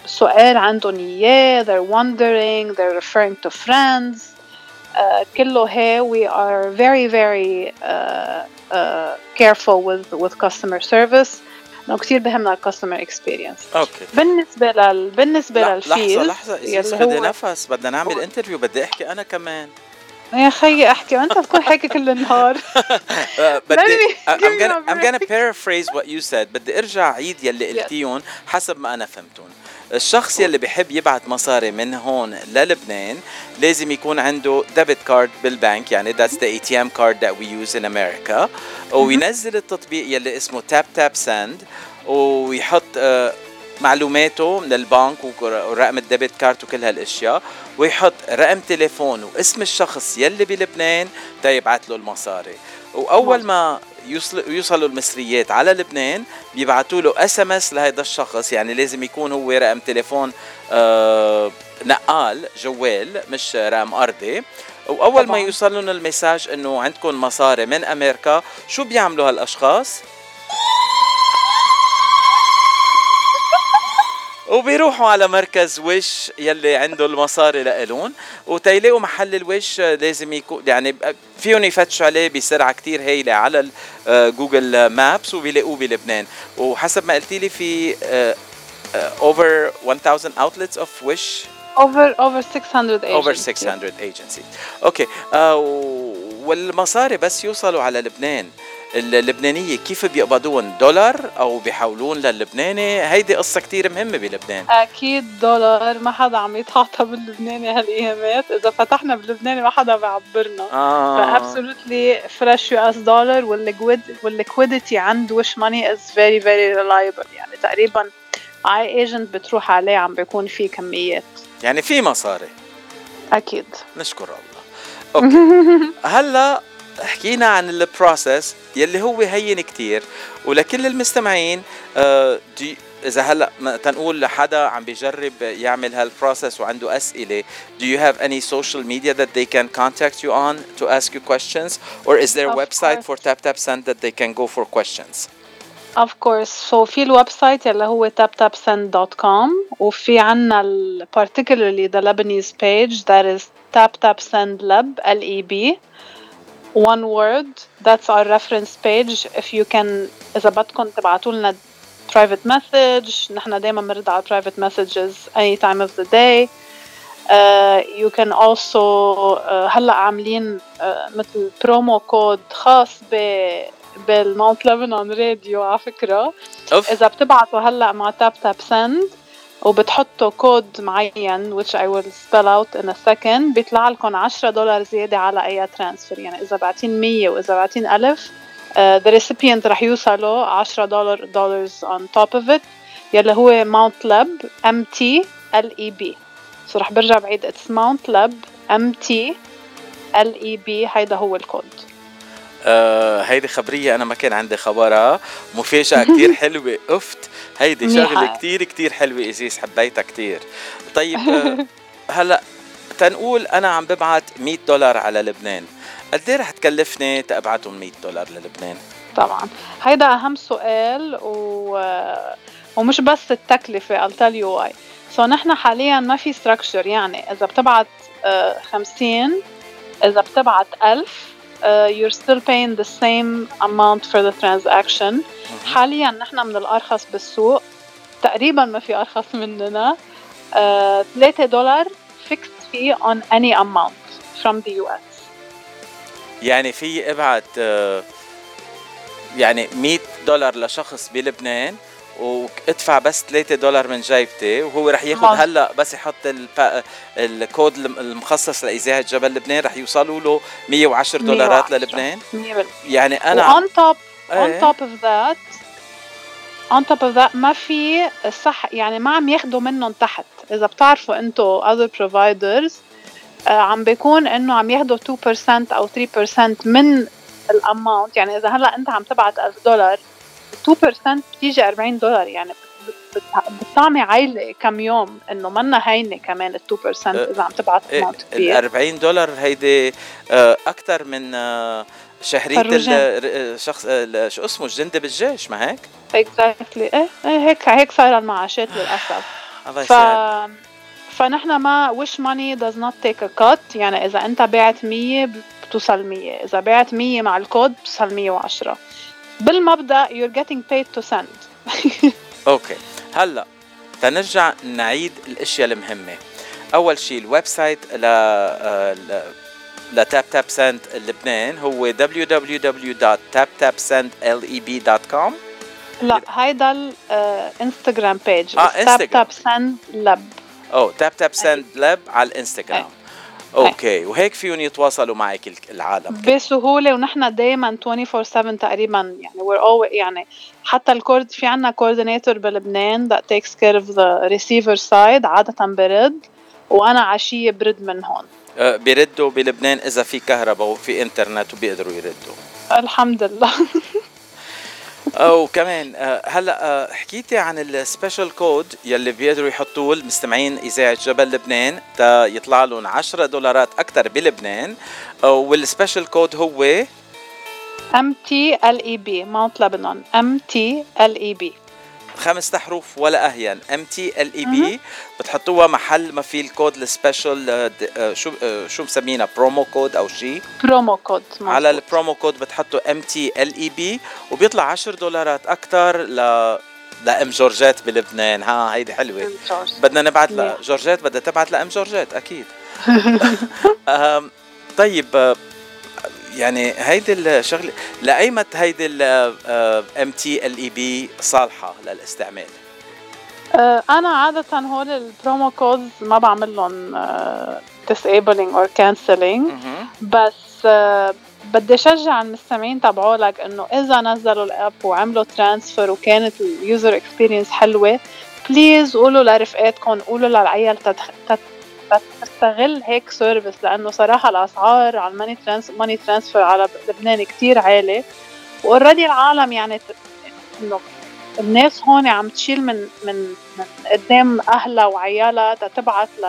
سؤال عندهم إياه. they're wondering, they're referring to friends. uh, كله هي we are very very uh, uh, careful with with customer service. إنه كتير بهمنا customer experience. اوكي. بالنسبة لل بالنسبة لا للفيز لحظة لحظة إذا بدي نفس بدنا نعمل انترفيو بدي احكي انا كمان. يا خيي احكي وانت بتكون حكي كل النهار. بدي I'm gonna I'm gonna paraphrase what you said. بدي ارجع عيد يلي قلتيهم حسب ما انا فهمتهم. الشخص يلي بيحب يبعت مصاري من هون للبنان لازم يكون عنده ديبت كارد بالبنك، يعني that's the A T M card that we use in America، وينزل التطبيق يلي اسمه تاب تاب سند ويحط uh, معلوماته من البنك ورقم الديبت كارت وكل هالاشياء، ويحط رقم تليفون واسم الشخص يلي بلبنان تا يبعت له المصاري. واول ما يوصل يوصلوا المصريات على لبنان بيبعتوا له اس ام اس لهيدا الشخص، يعني لازم يكون هو رقم تليفون آه نقال جوال مش رقم ارضي. واول طبعا. ما يوصل لهم المساج انه عندكم مصاري من امريكا، شو بيعملوا هالاشخاص؟ وبيروحوا على مركز وش يلي عنده المصاري لإلون، وتيلاقوا محل الوش لازم يكون يعني فيهم يفتشوا عليه بسرعة كتير هايلة على جوجل مابس وبيلاقوه بلبنان. وحسب ما قلتي لي في over one thousand outlets of wish over over six hundred agencies. over six hundred agencies. اوكي. آه والمصاري بس يوصلوا على لبنان اللبنانية كيف بيقبضون؟ دولار أو بيحولون للبناني؟ هيدي قصة كتير مهمة بلبنان. أكيد دولار، ما حدا عم يتعاطى باللبناني هالأيامات. إذا فتحنا باللبناني ما حدا بيعبرنا. آه. فabsolutely fresh يو إس dollar والliquidity عند وش money is very very reliable. يعني تقريبا اي agent بتروح عليه عم بيكون فيه كميات. يعني في مصاري. أكيد. نشكر الله. أوكي. هلا حكينا عن البروسيس يلي هو هين كتير، ولكل المستمعين آه إذا هلا تنقول لحدا عم بيجرب يعمل هالبروسيس وعنده أسئلة، do you have any social media that they can contact you on to ask you questions, or is there a website for TapTapSend that they can go for questions? Of course. So في الويب سايت اللي هو tap tap send dot com، وفي عنا ال particularly the Lebanese page that is TapTapSend Lab L E B one word. That's our reference page. If you can إذا بدكم تبعتوا لنا private message، نحن دايما بنرد على private messages any time of the day. Uh, you can also uh, هلا عاملين uh, مثل برومو كود خاص ب بالماونت لبنان راديو على فكرة. أوف. إذا بتبعتوا هلا مع تاب تاب سند وبتحطوا كود معين which I will spell out in a second، بيطلع لكم عشرة دولار زيادة على أي ترانسفير. يعني إذا بعتين مية وإذا بعتين ألف uh, the recipient رح يوصله عشرة دولار dollars on top of it، يلي هو Mount Lab M T L E B. so رح برجع بعيد it's Mount Lab M T L E B. هيدا هو الكود. آه هيدي خبرية أنا ما كان عندي خبرها، مفاجأة كتير حلوة. أفت هيدي شغلة كتير كتير حلوة إزيز، حبيتها كتير. طيب آه هلأ تنقول أنا عم ببعت مية دولار على لبنان، قد ايه رح تكلفني تبعتهم مية دولار للبنان؟ طبعا هيدا أهم سؤال، و... ومش بس التكلفة. I'll tell you why. so نحن حاليا ما في structure. يعني إذا بتبعت آه خمسين، إذا بتبعت ألف Uh, you're still paying the same amount for the transaction. حاليا نحن من الأرخص بالسوق، تقريبا ما في أرخص مننا. ثلاثة دولار fixed fee on any amount from the U S. يعني في ابعت uh, يعني مية دولار لشخص بلبنان وادفع بس ثلاثة دولار من جيبتي، وهو رح ياخد هلا بس يحط الكود المخصص لإذاعة جبل لبنان رح يوصلوا له مية وعشرة دولارات للبنان. يعني أنا on top on top of that on top of that ما في صح، يعني ما عم ياخدوا منهم تحت. إذا بتعرفوا أنتو other providers آه عم بيكون إنه عم ياخدوا two percent أو three percent من الأماونت. يعني إذا هلا أنت عم تبعت ألف دولار two percent بتيجي أربعين دولار. يعني بتطعمي عايلة كم يوم، إنه منا هينة كمان ال two percent إذا عم تبعت أماونت كبير. أربعين دولار هيدي أكتر من شهرية الشخص شو اسمه الجندي بالجيش، ما هيك؟ exactly. إيه هيك هيك صايرة المعاشات للأسف. الله ف يسعدك. فنحن ما wish money does not take a cut. يعني إذا أنت بعت مية بتوصل مية، إذا بعت مية مع الكود بتوصل مية وعشرة. بالمبدأ you're getting paid to send. اوكي، هلا تنرجع نعيد الاشياء المهمه. اول شيء الويب سايت ل لتاب تاب سند لبنان هو دبليو دبليو دبليو دوت تاب تاب سند ليب دوت كوم. لا هيدا الانستغرام بيج اه تاب تاب سند لاب. او تاب تاب سند لاب على الانستغرام. اوكي، وهيك فيهم يتواصلوا معك العالم بسهوله، ونحن دائما أربعة وعشرين سبعة تقريبا. يعني we're always يعني حتى الكورد في عنا كوردينيتور بلبنان that takes care of the receiver side. عاده برد وانا عشيه برد من هون. أه بيردوا بلبنان اذا في كهرباء وفي انترنت وبيقدروا يردوا الحمد لله. او كمان أه هلا أه حكيتي عن السبيشال كود يلي بيقدروا يحطوه المستمعين اذاعه جبل لبنان تا يطلع لهم عشرة دولارات اكثر بلبنان. والسبيشال كود هو إم تي إل إي بي Mount Lebanon. إم تي إل إي بي خمسة حروف ولا أهين. إم تي إل إي بي بتحطوها محل ما في الكود السبيشال. شو شو مسمينها، برومو كود أو شيء؟ برومو كود. على البرومو كود بتحطوا إم تي إل إي بي وبيطلع عشر دولارات أكتر ل لأم جورجيت بلبنان. ها هيدي حلوة. بدنا نبعت لجورجيت، بدها تبعت لأم جورجيت أكيد. طيب يعني هيدي الشغله لايمت هيدي ال إم تي إل إي بي صالحه للاستعمال؟ انا عاده هول البرومو كودز ما بعمل لهم disabling or cancelling. بس بدي اشجع المستمعين تبعولك انه اذا نزلوا الاب وعملوا ترانسفير وكانت اليوزر اكسبيرينس حلوه، بليز قولوا لرفقاتكم، قولوا للعيال تستغل هيك سيرفيس. لانه صراحه الاسعار على الماني ترانس ماني ترانسفير على لبنان كتير عالي، واوريدي العالم يعني انه الناس هون عم تشيل من من من قدام اهلها وعيالها تتبعت ل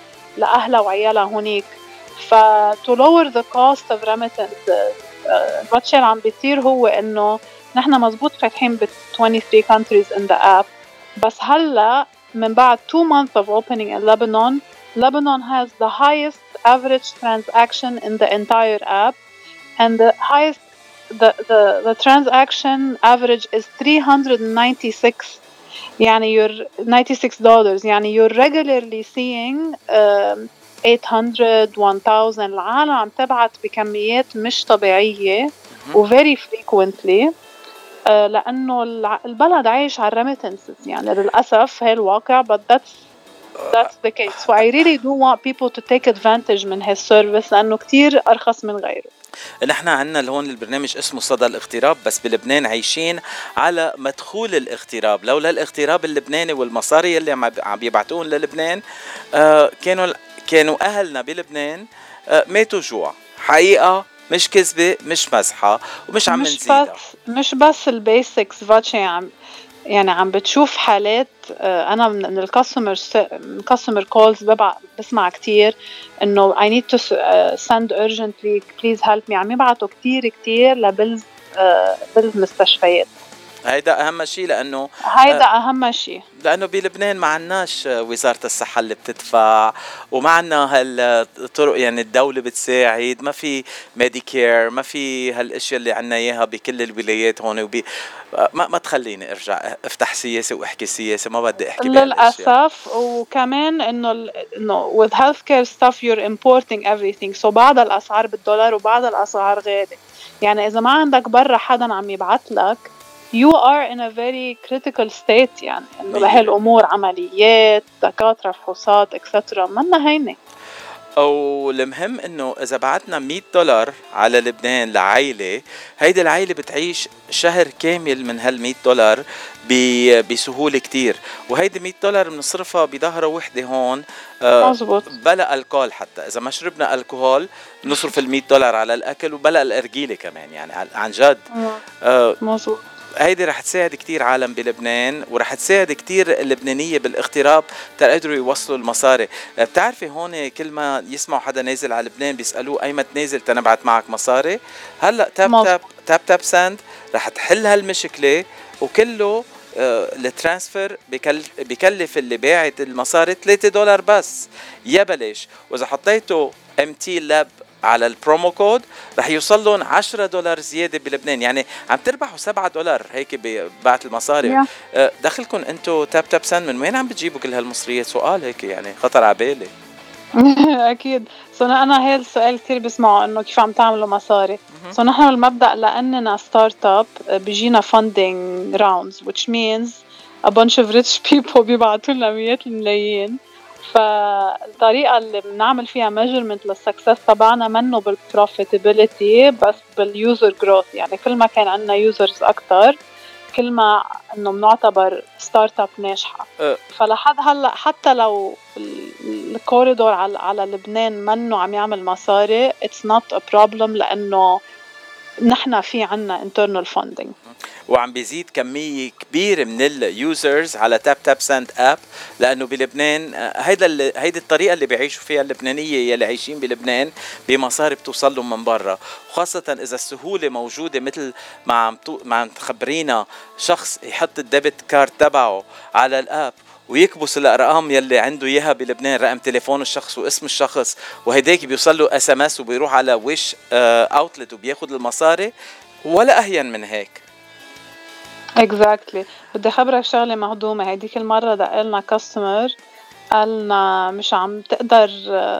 لاهلها وعيالها هونيك. ف to lower the cost of remittance الواتش اللي عم بيصير هو انه نحن مزبوط فاتحين ب ثلاث وعشرين countries in the app. بس هلا من بعد two months of opening in Lebanon, Lebanon has the highest average transaction in the entire app, and the highest the the the transaction average is three hundred ninety-six. يعني you're ninety-six dollars. يعني you're regularly seeing um, eight hundred one thousand. العالم عم تبعت بكميات مش طبيعية و very frequently. uh, لأنه البلد عايش على الريميتنسز. يعني للأسف هي الواقع. but that's that's the case. so I really do want people to take advantage من هالسيرفيس لأنه كتير أرخص من غيره. نحن عنا هون البرنامج اسمه صدى الاغتراب، بس بلبنان عايشين على مدخول الاغتراب. لولا الاغتراب اللبناني والمصاري اللي عم بيبعتون للبنان آه كانوا كانوا أهلنا بلبنان آه ماتوا جوع. حقيقة مش كذبة مش مزحة ومش عم نزيدها. مش بس البيسكس فاتشي عم يعني عم بتشوف حالات. أنا من الكاستمر كاستمر كولز ببع بسمع كتير إنه I need to send urgently please help me. عم يبعتوا كتير كتير لبلز بلز مستشفيات. هيدا أهم شيء لأنه هيدا أهم شيء لأنه بلبنان ما عناش وزارة الصحة اللي بتدفع، وما عنا هالطرق. يعني الدولة بتساعد، ما في ميديكير، ما في هالاشياء اللي عنا اياها بكل الولايات هون. وبي ما ما تخليني ارجع افتح سياسة واحكي سياسة، ما بدي احكي للأسف. وكمان انه انه with healthcare stuff you're importing everything. so بعض الاسعار بالدولار وبعض الاسعار غالية. يعني اذا ما عندك برا حدا عم يبعت لك you are in a very critical state. يعني انه لهالامور عمليات دكاتره فحوصات اكسترا منا هينه. او المهم انه اذا بعتنا مية دولار على لبنان لعائله، هيدي العائله بتعيش شهر كامل من هال مية دولار بسهوله كتير. وهيدي مية دولار بنصرفها بظهره وحده هون مزبوط. بلا الكول. حتى اذا ما شربنا الكحول بنصرف ال مية دولار على الاكل وبلا الارجيله كمان. يعني عن جد مزبوط. هيدي رح تساعد كتير عالم بلبنان، ورح تساعد كتير اللبنانية بالاغتراب تقدروا يوصلوا المصاري. بتعرفي هون كل ما يسمعوا حدا نازل على لبنان بيسألوه أي ما تنازل تنبعت معك مصاري. هلأ تاب تاب تاب تاب ساند رح تحل هالمشكلة، وكله آه الترانسفير بكلف, بكلف اللي باعت المصاري ثلاثة دولار بس يا بلاش. واذا حطيته ام تي لاب على البرومو كود رح يوصل لهم عشرة دولار زياده بلبنان، يعني عم تربحوا سبعة دولار هيك ببعت المصاري. Yeah. آه دخلكم انتو تاب تاب سند، من وين عم بتجيبوا كل هالمصريات؟ سؤال هيك يعني خطر على بالي. اكيد. سو انا هي السؤال كثير بسمعه انه كيف عم تعملوا مصاري. سو نحن بالمبدا لاننا ستارت اب بيجينا فاندينج راوندز which means a bunch of rich people بيبعتوا لنا مئات الملايين. فالطريقه اللي بنعمل فيها measurement للسكسس تبعنا منه بالبروفيتابيلتي بس باليوزر جروث، يعني كل ما كان عندنا يوزرز اكثر كل ما انه بنعتبر ستارت اب ناجحه. أه. فلحد هلا حتى لو الكوريدور على على لبنان منه عم يعمل مصاري it's not a problem لانه نحن في عنا internal funding وعم بيزيد كمية كبيرة من اليوزرز على تاب تاب سند اب، لأنه بلبنان هيدا هيدي الطريقة اللي بيعيشوا فيها اللبنانية يلي عايشين بلبنان بمصاري بتوصل لهم من برا، وخاصة إذا السهولة موجودة مثل ما عم ما عم تخبرينا شخص يحط الديبت كارد تبعه على الاب ويكبس الارقام يلي عنده اياها بلبنان، رقم تليفون الشخص واسم الشخص، وهيداك بيوصل له اس ام اس وبيروح على ويش اوتلت وبياخد المصاري، ولا اهين من هيك. exactly. بدي خبرك شغله مهضومه. هيديك المره دقلنا كاستمر قالنا مش عم تقدر،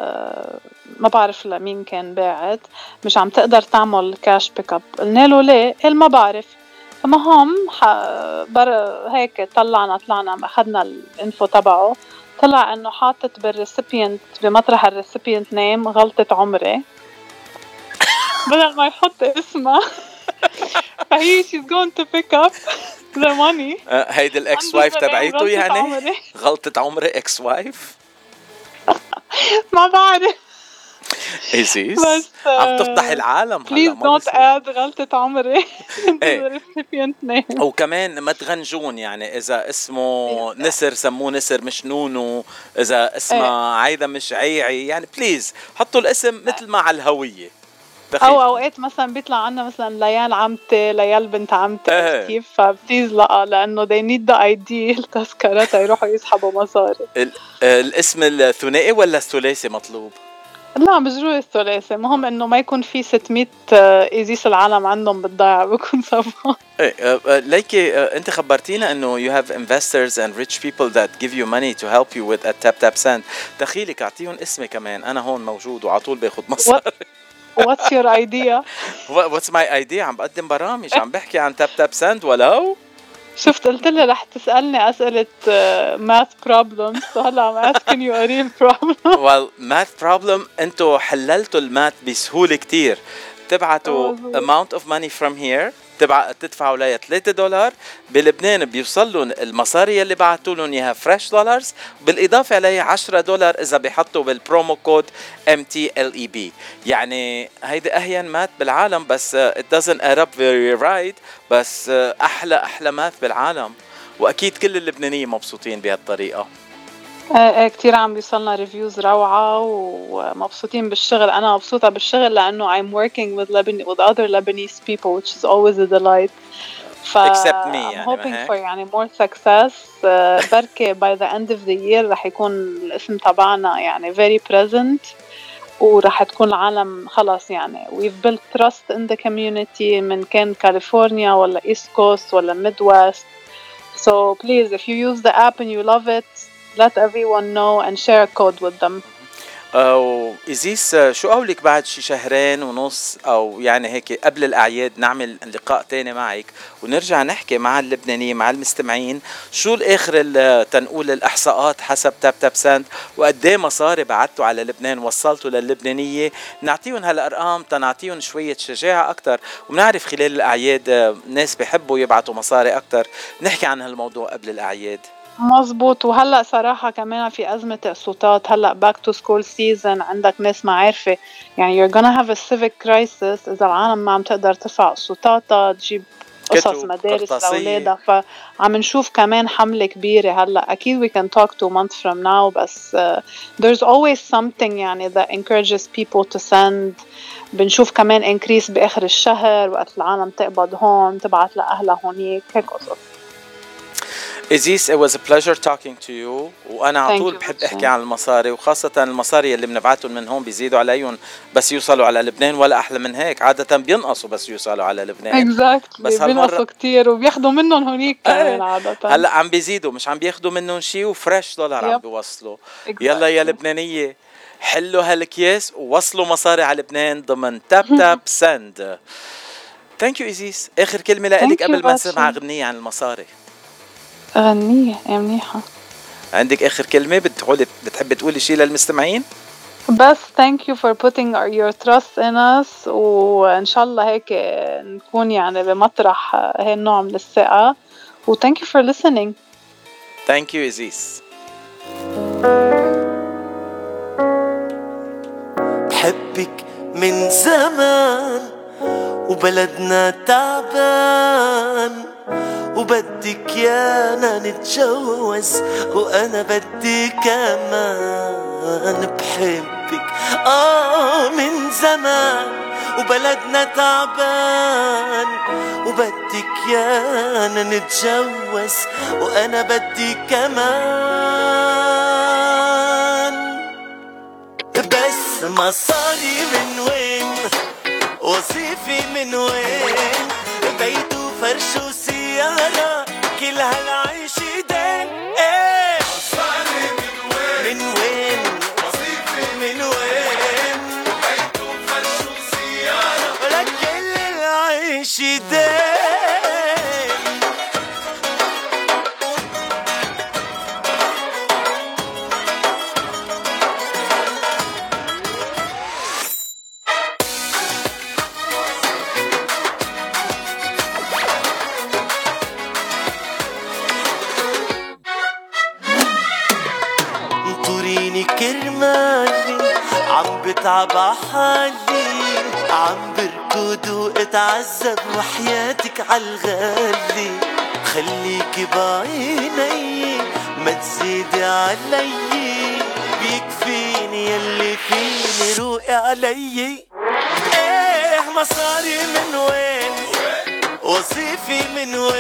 ما بعرف لمين كان باعت، مش عم تقدر تعمل كاش بيك اب. قلنا له ليه؟ قال ما بعرف. فمهم بر هيك طلعنا طلعنا اخذنا الانفو تبعه، طلع انه حاطط بالريسيبينت بمطرح الريسيبينت نيم غلطة عمري بدل ما يحط اسمها. فهي she's going to pick up the money. هيدي الاكس وايف تبعيته يعني عمري. غلطة عمري اكس وايف ما بعرف إيزيس بس عم تفضح العالم هلا. Please don't add غلطة عمري وكمان ما تغنجون، يعني إذا اسمه نسر سموه نسر مش نونو، إذا اسمه عايدة مش عيعي، يعني بليز حطوا الاسم مثل ما على الهوية. أو أوقات مثلا بيطلع عنا مثلا ليال عمتي ليال بنت عمتي كيف، فبليز لا لأنه they need the آي دي التذكرة يروحوا يسحبوا مصاري. الاسم الثنائي ولا الثلاثي مطلوب؟ لا بجروح الثلاثي، مهم انه ما يكون في ستمية ايزيس العالم عندهم بالضيعة بكون صفا. ايه ليكي انت خبرتينا انه you have investors and rich people that give you money to help you with a tap tap send. دخيلك اعطيهم اسمي كمان، انا هون موجود وعلى طول باخذ مصاري. What's your idea? What's my idea؟ عم بقدم برامج، عم بحكي عن تاب تاب سند. ولو شفت قلت لي رح تسألني أسئلة math problems، وهلا I'm asking you a real problem. well math problem انتو حللتوا الماث بسهولة كتير. تبعتوا amount of money from here، تبع تدفعوا لها ثلاثة دولار، بلبنان بيوصل لهم المصاري اللي بعتوا لهم اياها فريش دولارز، بالاضافه عليها عشرة دولار اذا بيحطوا بالبرومو كود إم تي إل إي بي. يعني هيدي اهين مات بالعالم، بس it doesn't add up very right، بس احلى احلى مات بالعالم، واكيد كل اللبنانيين مبسوطين بهالطريقه. ايه كتير عم بيوصلنا ريفيوز روعة ومبسوطين بالشغل. أنا مبسوطة بالشغل لأنه I'm working with Lebanese with other Lebanese people which is always a delight. ف Except me يعني I'm hoping for يعني more success. uh, بركة by the end of the year رح يكون الاسم تبعنا يعني very present، ورح تكون العالم خلاص يعني we've built trust in the community، من كان كاليفورنيا ولا East Coast ولا Midwest. So please if you use the app and you love it, let everyone know and share a code with them. أو إزيس شو قولك بعد شي شهرين ونص أو يعني هيك قبل الأعياد نعمل لقاء تاني معك ونرجع نحكي مع اللبنانيين مع المستمعين شو الآخر تنقول الإحصاءات حسب تاب تاب سند، وقديه مصاري بعتوا على لبنان وصلتوا للبنانية، نعطيهم هالأرقام تنعطيهم شوية شجاعة أكتر. وبنعرف خلال الأعياد ناس بيحبوا يبعتوا مصاري أكتر، نحكي عن هالموضوع قبل الأعياد. مزبوط. وهلأ صراحة كمان في أزمة تقسيطات، هلأ back to school season، عندك ناس ما عارفة يعني you're gonna have a civic crisis إذا العالم ما عم تقدر تدفع قسطاتها، تجيب قصص مدارس لأولادها. فعم نشوف كمان حملة كبيرة هلأ. أكيد we can talk two months from now، بس uh, there's always something يعني that encourages people to send. بنشوف كمان increase بآخر الشهر وقت العالم تقبض هون تبعت لأهلها هونيك، هيك قصص. إزيس it was a pleasure talking to you. وأنا على طول بحب أحكي عن المصاري، وخاصة المصاري اللي بنبعتهم من هون بيزيدوا عليهم بس يوصلوا على لبنان، ولا أحلى من هيك عادة بينقصوا بس يوصلوا على لبنان. exactly. بس بينقصوا كتير وبياخدوا منهم هونيك كمان عادة. هلا عم بيزيدوا، مش عم بياخدوا منهم شيء، وفريش دولار عم بيوصلوا. exactly. يلا يا لبنانية حلوا هالكيس ووصلوا مصاري على لبنان ضمن تاب تاب سند. ثانك يو إزيس. آخر كلمة لك قبل ما نسمع غنية عن المصاري. غنية يا منيحة. عندك آخر كلمة بتقولي بتحبي تقولي شيء للمستمعين؟ بس thank you for putting your trust in us، وإن شاء الله هيك نكون يعني بمطرح هاي النوع من الثقة، و thank you for listening. Thank you إزيس. بحبك من زمان وبلدنا تعبان، وبدك يانا نتجوز وأنا بدي كمان. بحبك آه من زمان وبلدنا تعبان، وبدك يانا نتجوز وأنا بدي كمان. بس مصاري من وين، وظيفي من وين، بيت وفرش وسيارة كل هالعيش دين. ايه مصاري من وين، من وين، وظيفي من وين، بيت وفرش وسيارة ولك كل العيش دين. كرمالي عم بتعب عحالي، عم بركض واتعذب وحياتك عالغالي. خليكي بعيني ما تزيدي علي، بيكفيني يلي فيني روقي علي. ايه مصاري من وين، وظيفي من وين.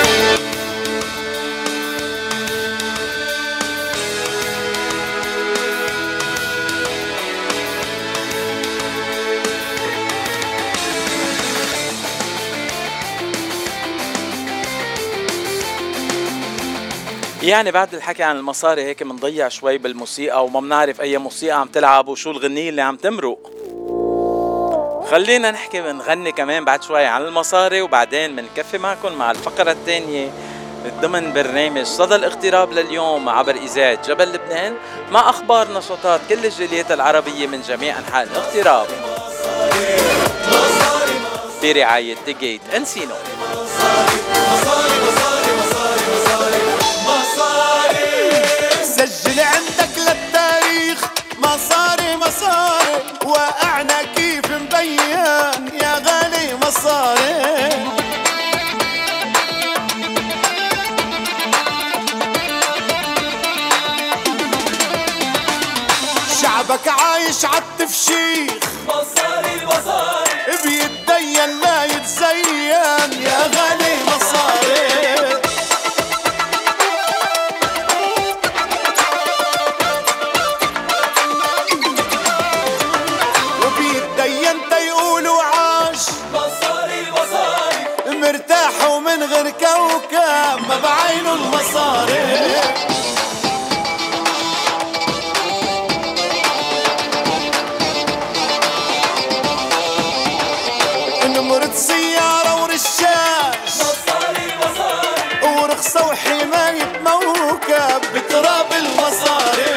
يعني بعد الحكي عن المصاري هيك منضيع شوي بالموسيقى، وما بنعرف اي موسيقى عم تلعب وشو الغنية اللي عم تمرق. خلينا نحكي ونغني كمان بعد شوي عن المصاري، وبعدين منكفي معكم مع الفقرة الثانية ضمن برنامج صدى الاغتراب لليوم عبر إذاعة جبل لبنان، مع أخبار نشاطات كل الجاليات العربية من جميع أنحاء الاغتراب برعاية تيجيت انسينو. سجل عندك للتاريخ مصاري مصاري، وقعنا كيف مبين يا غالي مصاري. شعبك عايش عالتفشيخ مصاري مصاري، بيتدين ما يتزين يا غالي مصاري. مرتاح ومن غير كوكب ما بعينه المصاري. نمرة سيارة ورشاش مصاري مصاري، ورخصة وحماية موكب بتراب المصاري.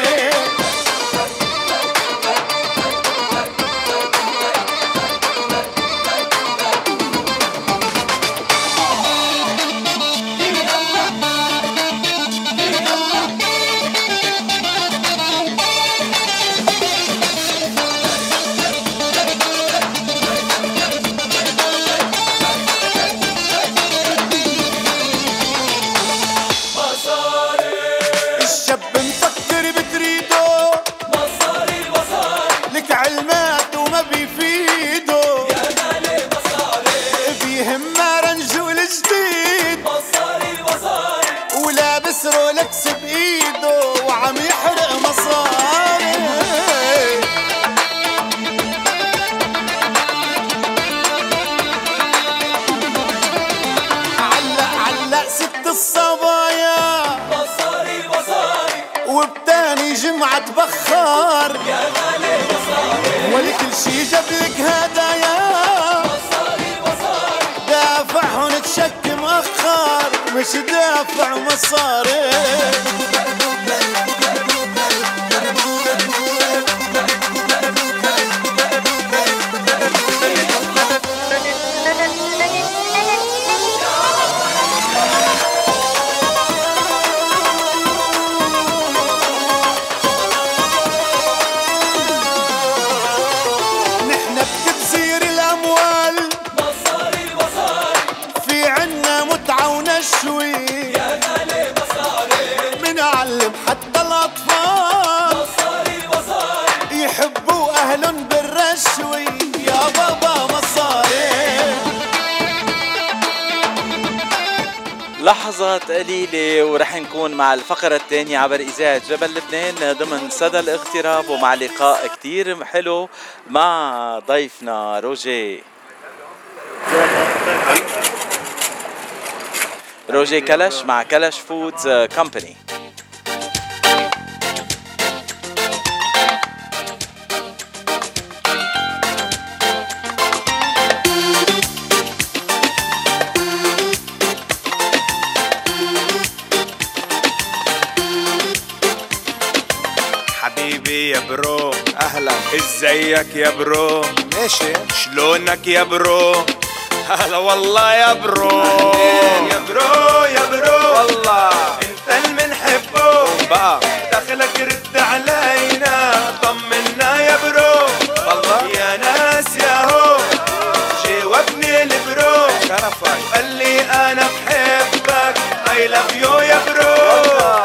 قام يحرق مصاري. علق علق ست الصبايا مصاري مصاري، وبتاني جمعة بخار يا غالي مصاري، ولكل شي جابلك هدايا مصاري مصاري، دافعهن تشك مأخر مش دافع مصاري. حتى الأطفال مصاري مصاري، يحبوا أهلن بالرشوي يا بابا مصاري. لحظات قليلة ورح نكون مع الفقرة الثانية عبر إذاعة جبل لبنان ضمن صدى الاغتراب، ومع لقاء كتير حلو مع ضيفنا روجي روجي كلش مع كلش فودز كومباني. يا برو اهلا، ازيك يا برو؟ ماشي. شلونك يا برو؟ هلا والله يا برو. يا برو يا برو والله انت اللي منحبه بقى، دخلك رد علينا طمنا يا برو والله. يا ناس يا هو جاوبني البرو شرفك، قال لي انا بحبك I love you يا برو والله.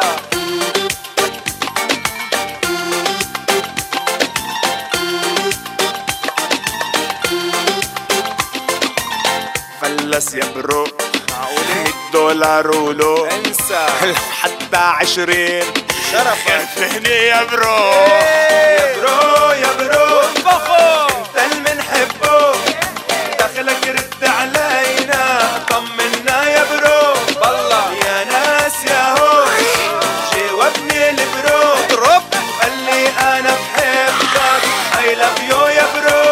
فلس يا برو مية دولار ولو انسى حتى عشرين شرفك هني يا برو. يا برو يا برو انت اللي منحبه، دخلك رد علينا طمنا يا برو والله. يا ناس يا هو جاوبني البرو اضرب، قال لي انا بحبك I love you يا برو.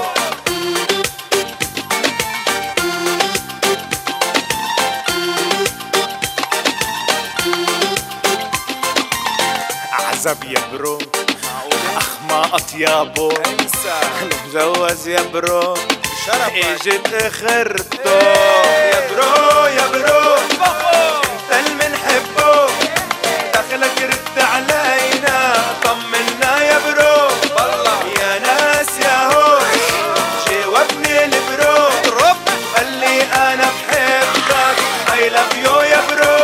عزب يا برو اخ ما اطيابه انسى، مجوز يا برو شرفك اجت اخرته. يا برو يا برو انت اللي منحبه، دخلك رد علينا طمنا يا برو والله. يا ناس يا هو جاوبني البرو اضرب، قال لي انا بحبك I love you يا برو.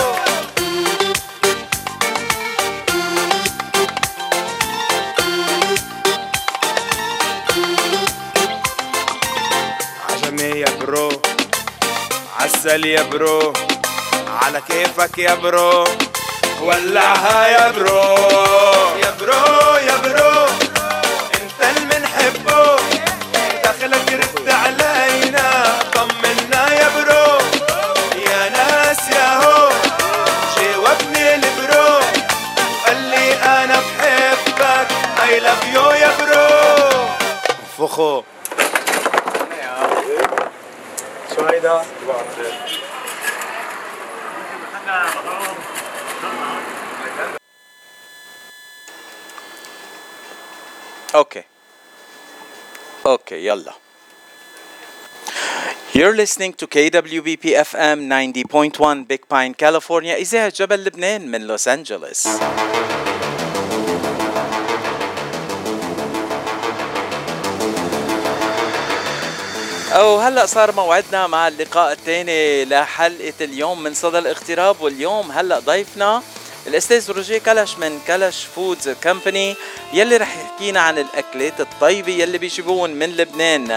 يا برو عسل يا برو، على كيفك يا برو ولعها يا برو. يا برو يا برو انت اللي منحبه، دخلك رد علينا طمنا يا برو. يا ناس يا هو جاوبني البرو، قال لي انا بحبك I love you يا برو. فخو هيدا اوكي اوكي يلا. You're listening to K W B P F M ninety point one Big Pine, California, إذاعة جبل لبنان من لوس أنجلوس. أو هلأ صار موعدنا مع اللقاء الثاني لحلقة اليوم من صدى الاغتراب، واليوم هلأ ضيفنا الأستاذ روجي كلش من كلش فودز كومباني، يلي رح يحكينا عن الأكلات الطيبة يلي بيجيبون من لبنان.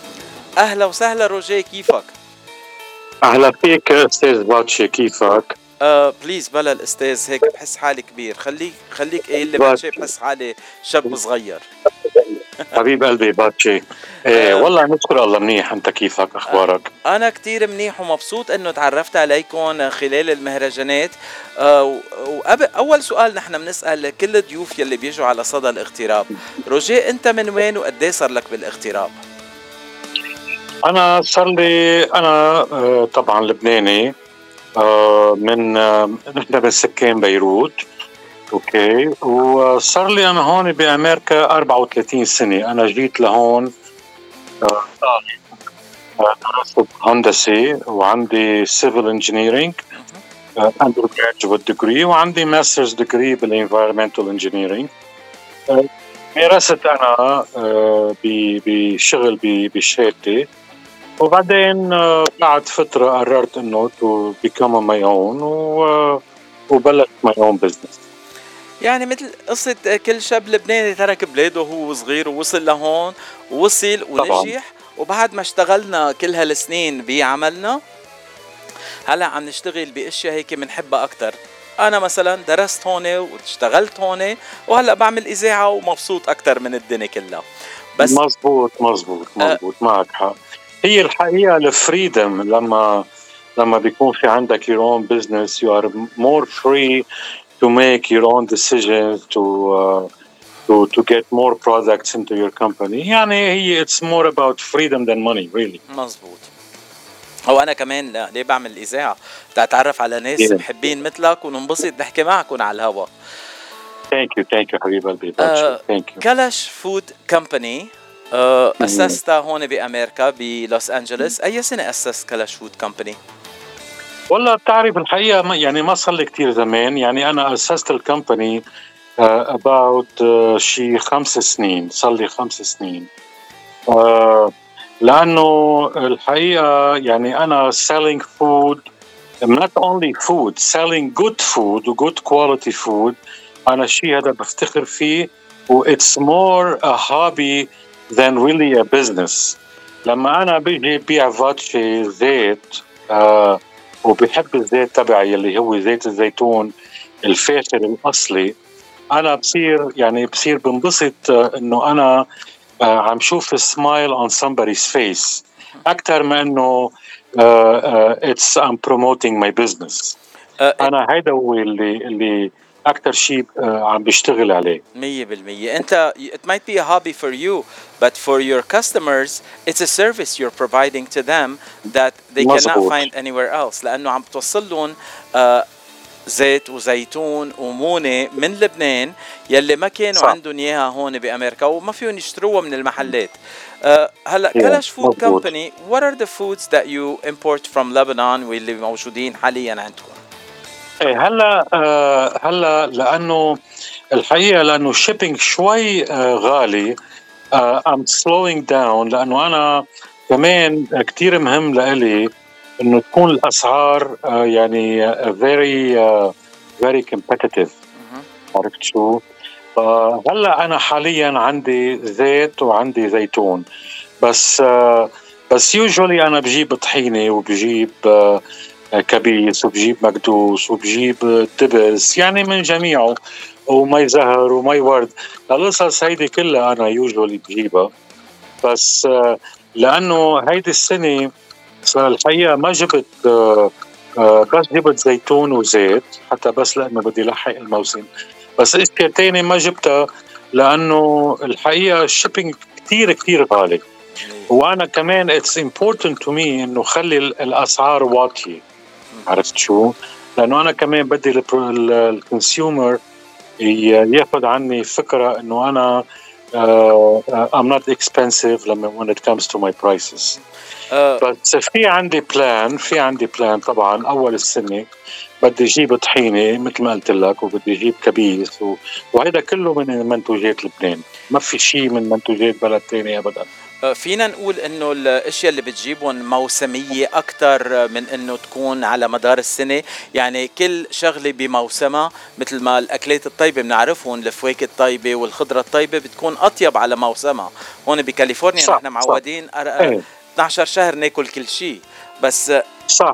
أهلا وسهلا روجي، كيفك؟ أهلا فيك أستاذ باتشي، كيفك؟ آه بليز بلا الاستاذ هيك بحس حالي كبير. خليك خليك ايه اللي باتشي بحس حالي شاب صغير. حبيب قلبي باتشي. ايه والله نشكر الله. منيح، انت كيفك؟ اخبارك؟ انا كتير منيح ومبسوط انه تعرفت عليكم خلال المهرجانات. آه وقبل اول سؤال نحن بنسال كل الضيوف يلي بيجوا على صدى الاغتراب، روجيه انت من وين وقد ايه صار لك بالاغتراب؟ انا صار لي انا آه طبعا لبناني، آه من آه نحن من سكان بيروت. اوكي، وصار لي انا هون بامريكا أربعة وثلاثين سنه. انا جيت لهون آه درست هندسه وعندي سيفل انجينيرينج اندر جراديويت ديجري، وعندي ماسترز ديجري بالانفايرمنتال انجينيرينج. مارست انا آه بشغل بشهادتي، وبعدين بعد فترة قررت انه to become my own وبلشت my own business. يعني مثل قصة كل شاب لبناني ترك بلاده وهو صغير ووصل لهون ووصل ونجح. وبعد ما اشتغلنا كل هالسنين بعملنا هلا عم نشتغل باشياء هيك بنحبها اكتر. انا مثلا درست هون واشتغلت هون وهلا بعمل اذاعة ومبسوط اكتر من الدنيا كلها. بس مزبوط مزبوط مزبوط أه معك حق. هي الحقيقة الفريدم لما لما بيكون في عندك your own business you are more free to make your own decisions to uh, to to get more products into your company. يعني هي it's more about freedom than money really. مزبوط. هو أنا كمان ليه بعمل الإذاعة تتعرف على ناس yeah. محبين مثلك وننبسط نحكي معكم على الهوا. Thank you thank you حبيب قلبي. uh, thank you. كلش فود كمباني أه أسستها هون بأمريكا بلوس أنجلوس. أي سنة أسست كلش فود كمباني؟ والله بتعرف الحقيقة يعني ما صار لي كتير زمان. يعني أنا أسست الكمباني uh, about uh, شي خمس سنين. صار لي خمس سنين uh, لأنه الحقيقة يعني أنا selling food, not only food, selling good food و good quality food. أنا شي هذا بفتخر فيه و it's more a hobby than really a business. لما أنا بيجي بيع فاتشي زيت آه وبحب الزيت تبعي اللي هو زيت الزيتون الفاخر الأصلي، أنا بصير يعني بصير بنبسط آه إنه أنا آه عم شوف smile on somebody's face أكتر ما إنه آه uh, it's I'm promoting my business. آه أنا هيدا هو اللي اللي أكتر شيء عم بيشتغل عليه. مية بالمية. أنت it might be a hobby for you, but for your customers it's a service you're providing to them that they مزبوط. cannot find anywhere else. لأنه عم توصل لهم uh, زيت وزيتون ومونة من لبنان يلي ما كانوا صح. عندهم إياها هون بأمريكا وما فيهم يشتروها من المحلات. uh, هلا yeah. كلش فود كمباني. What are the foods that you import from Lebanon واللي موجودين حاليا عندكم؟ ايه هلا آه هلا لانه الحقيقه لانه الشيبينج شوي آه غالي آه I'm slowing down لانه انا كمان كتير مهم لإلي انه تكون الاسعار آه يعني uh, very uh, very competitive. عرفت شو؟ آه هلا انا حاليا عندي زيت وعندي زيتون بس آه بس usually انا بجيب طحينه وبجيب آه كبيس وبجيب مكدوس وبجيب تبس يعني من جميعه ومي زهر ومي ورد. القصص هيدي كلها أنا يوجولي بجيبها بس لأنه هيدي السنة الحقيقة ما جبت بس جبت زيتون وزيت حتى بس لأنه بدي لحق الموسم. بس إشياء تاني ما جبتها لأنه الحقيقة الشيبينج كتير كتير غالي. وأنا كمان it's important to me إنه خلي الأسعار واطية. عرفت شو؟ لأنه أنا كمان بدي الكونسيومر ياخد عني فكرة إنه أنا uh, I'm not expensive لما when it comes to my prices. uh, بس في عندي بلان في عندي بلان طبعا. أول السنة بدي أجيب طحينة مثل ما قلت لك وبدي أجيب كبيس و... وهذا كله من منتوجات لبنان. ما في شيء من منتوجات بلد تاني أبدا. فينا نقول انه الاشياء اللي بتجيبهم موسمية اكتر من انه تكون على مدار السنة. يعني كل شغلة بموسمها مثل ما الاكلات الطيبة بنعرفهم الفواكه الطيبة والخضرة الطيبة بتكون اطيب على موسمها. هون بكاليفورنيا نحن معودين اثني عشر شهر ناكل كل شيء بس صح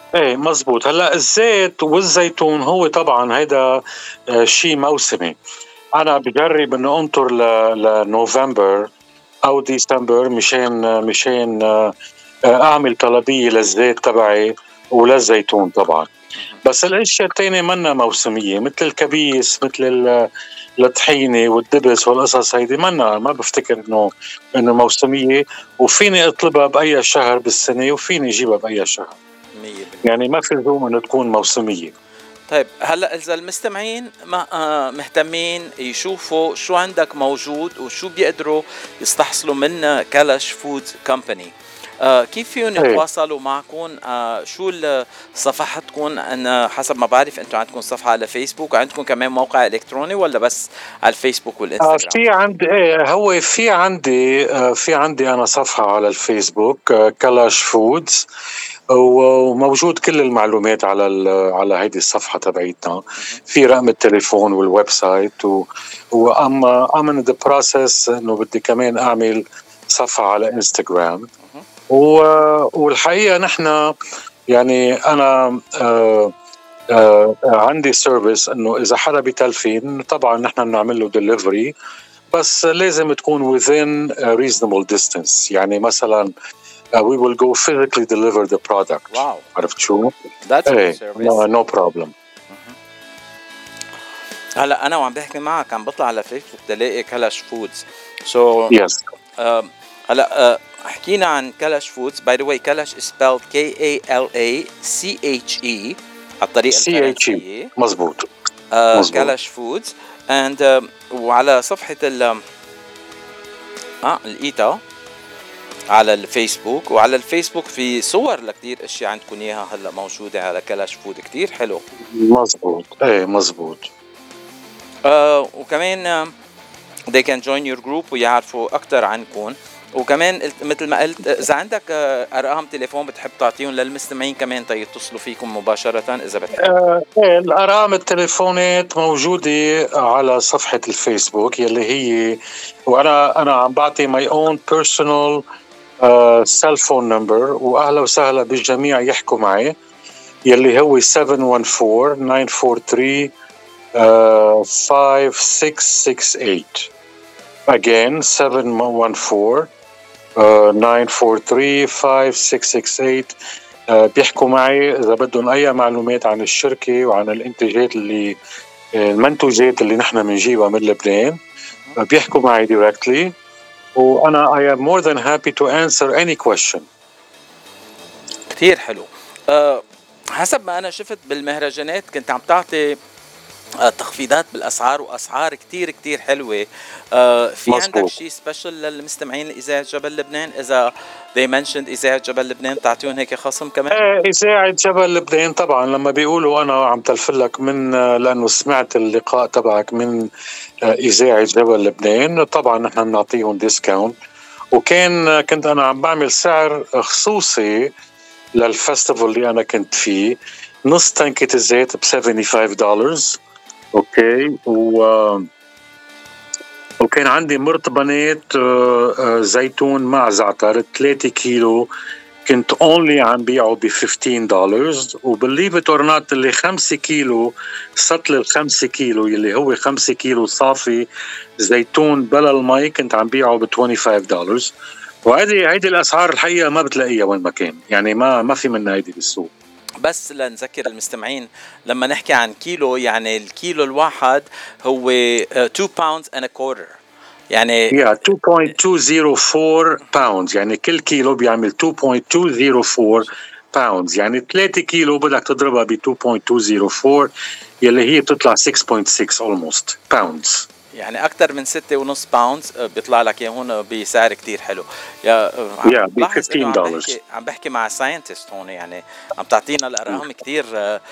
ايه مزبوط. هلا الزيت والزيتون هو طبعا هيدا شيء موسمي. انا بجرب انه انطر لنوفمبر او ديسمبر مشان مشان اعمل طلبيه للزيت تبعي وللزيتون طبعا. بس الاشياء الثانيه منا موسميه، مثل الكبيس، مثل الطحينه والدبس والقصص هيدي منا، ما بفتكر انه انه موسميه، وفيني اطلبها باي شهر بالسنه وفيني اجيبها باي شهر، يعني ما في لزوم انه تكون موسميه. طيب هلا اذا المستمعين ما آه مهتمين يشوفوا شو عندك موجود وشو بيقدروا يستحصلوا من كلش فود كومباني، آه كيف فيهم يتواصلوا معكم؟ آه شو صفحتكم؟ انا حسب ما بعرف انتم عندكم صفحه على فيسبوك وعندكم كمان موقع الكتروني، ولا بس على الفيسبوك والانستغرام؟ آه في عندي ايه هو في عندي آه في عندي انا صفحه على الفيسبوك آه كلاش فودز، وموجود كل المعلومات على على هيدي الصفحه تبعيتنا، في رقم التليفون والويب سايت، واما ام ان ذا بروسيس انه بدي كمان اعمل صفحه على انستغرام. والحقيقه نحن يعني انا آه آه عندي سيرفيس انه اذا حدا بتلفين طبعا نحن بنعمل له ديليفري، بس لازم تكون within a reasonable distance. يعني مثلا Uh, we will go physically deliver the product. Wow. عرفت شو؟ That's a hey, good service. No, no problem. هلا أنا وعم بحكي معك عم بطلع على فيسبوك تلاقي كلاش فودز. So yes. uh, هلا uh, حكينا عن كلاش فودز. By the way, كلاش is spelled K A L A C H E على الطريقة الفرنسية. مزبوط. uh, كلاش فودز and uh, وعلى صفحة ال اه الإيتا على الفيسبوك، وعلى الفيسبوك في صور لكتير اشياء عندكم اياها هلا موجوده على كلاش فود كتير حلو. مزبوط ايه مزبوط. آه وكمان they can join your group ويعرفوا اكتر عنكم. وكمان مثل ما قلت اذا عندك ارقام تليفون بتحب تعطيهم للمستمعين كمان تيتصلوا فيكم مباشره اذا بتحب. آه الارقام التليفونات موجوده على صفحه الفيسبوك يلي هي، وانا انا عم بعطي my own personal سيل فون نمبر، واهلا وسهلا بالجميع يحكوا معي، يلي هو سبعة واحد أربعة تسعة أربعة ثلاثة خمسة ستة ستة ثمانية. again سبعة واحد أربعة تسعة أربعة ثلاثة خمسة ستة ستة ثمانية. بيحكوا معي اذا بدهم اي معلومات عن الشركه وعن الانتاجات اللي المنتوجات اللي نحن بنجيبها من لبنان، بيحكوا معي directly، وأنا I am more than happy to answer any question. كتير حلو. أه حسب ما أنا شفت بالمهرجانات كنت عم تعطي أه تخفيضات بالأسعار وأسعار كتير كتير حلوة. أه في مزبوط. عندك شيء سبيشل للمستمعين إذاعة جبل لبنان؟ إذا they mentioned إذاعة جبل لبنان تعطيهم هيك خصم كمان؟ ايه إذاعة جبل لبنان طبعا لما بيقولوا أنا عم تلفلك من لأنه سمعت اللقاء تبعك من إذاعة جبل لبنان، طبعا نحن بنعطيهم ديسكاونت. وكان كنت أنا عم بعمل سعر خصوصي للفستيفال اللي أنا كنت فيه، نص تنكة الزيت ب خمسة وسبعين دولار. أوكي. و وكان عندي مرطبانات زيتون مع زعتر ثلاثة كيلو كنت اونلي عم بيعه ب خمستاشر دولار. وبالليف ات اور نوت اللي خمسة كيلو سطل الخمسة كيلو اللي هو خمسة كيلو صافي زيتون بلا المي كنت عم بيعه ب خمسة وعشرين دولار. وهذه هيدي الاسعار الحقيقه ما بتلاقيها وين ما كان، يعني ما ما في منها هيدي بالسوق. بس لنذكر المستمعين لما نحكي عن كيلو يعني الكيلو الواحد هو two pounds and a quarter، يعني yeah two point two zero four pounds، يعني كل كيلو بيعمل two point two zero four pounds، يعني ثلاثة كيلو بدك تضربها ب two point two zero four يلي هي بتطلع six point six almost pounds، يعني أكتر من ستة ونص باوندز بيطلع لك هون بسعر كتير حلو. يا yeah, ب fifteen dollars. عم بحكي مع ساينتست هون، يعني عم تعطينا الأرقام كتير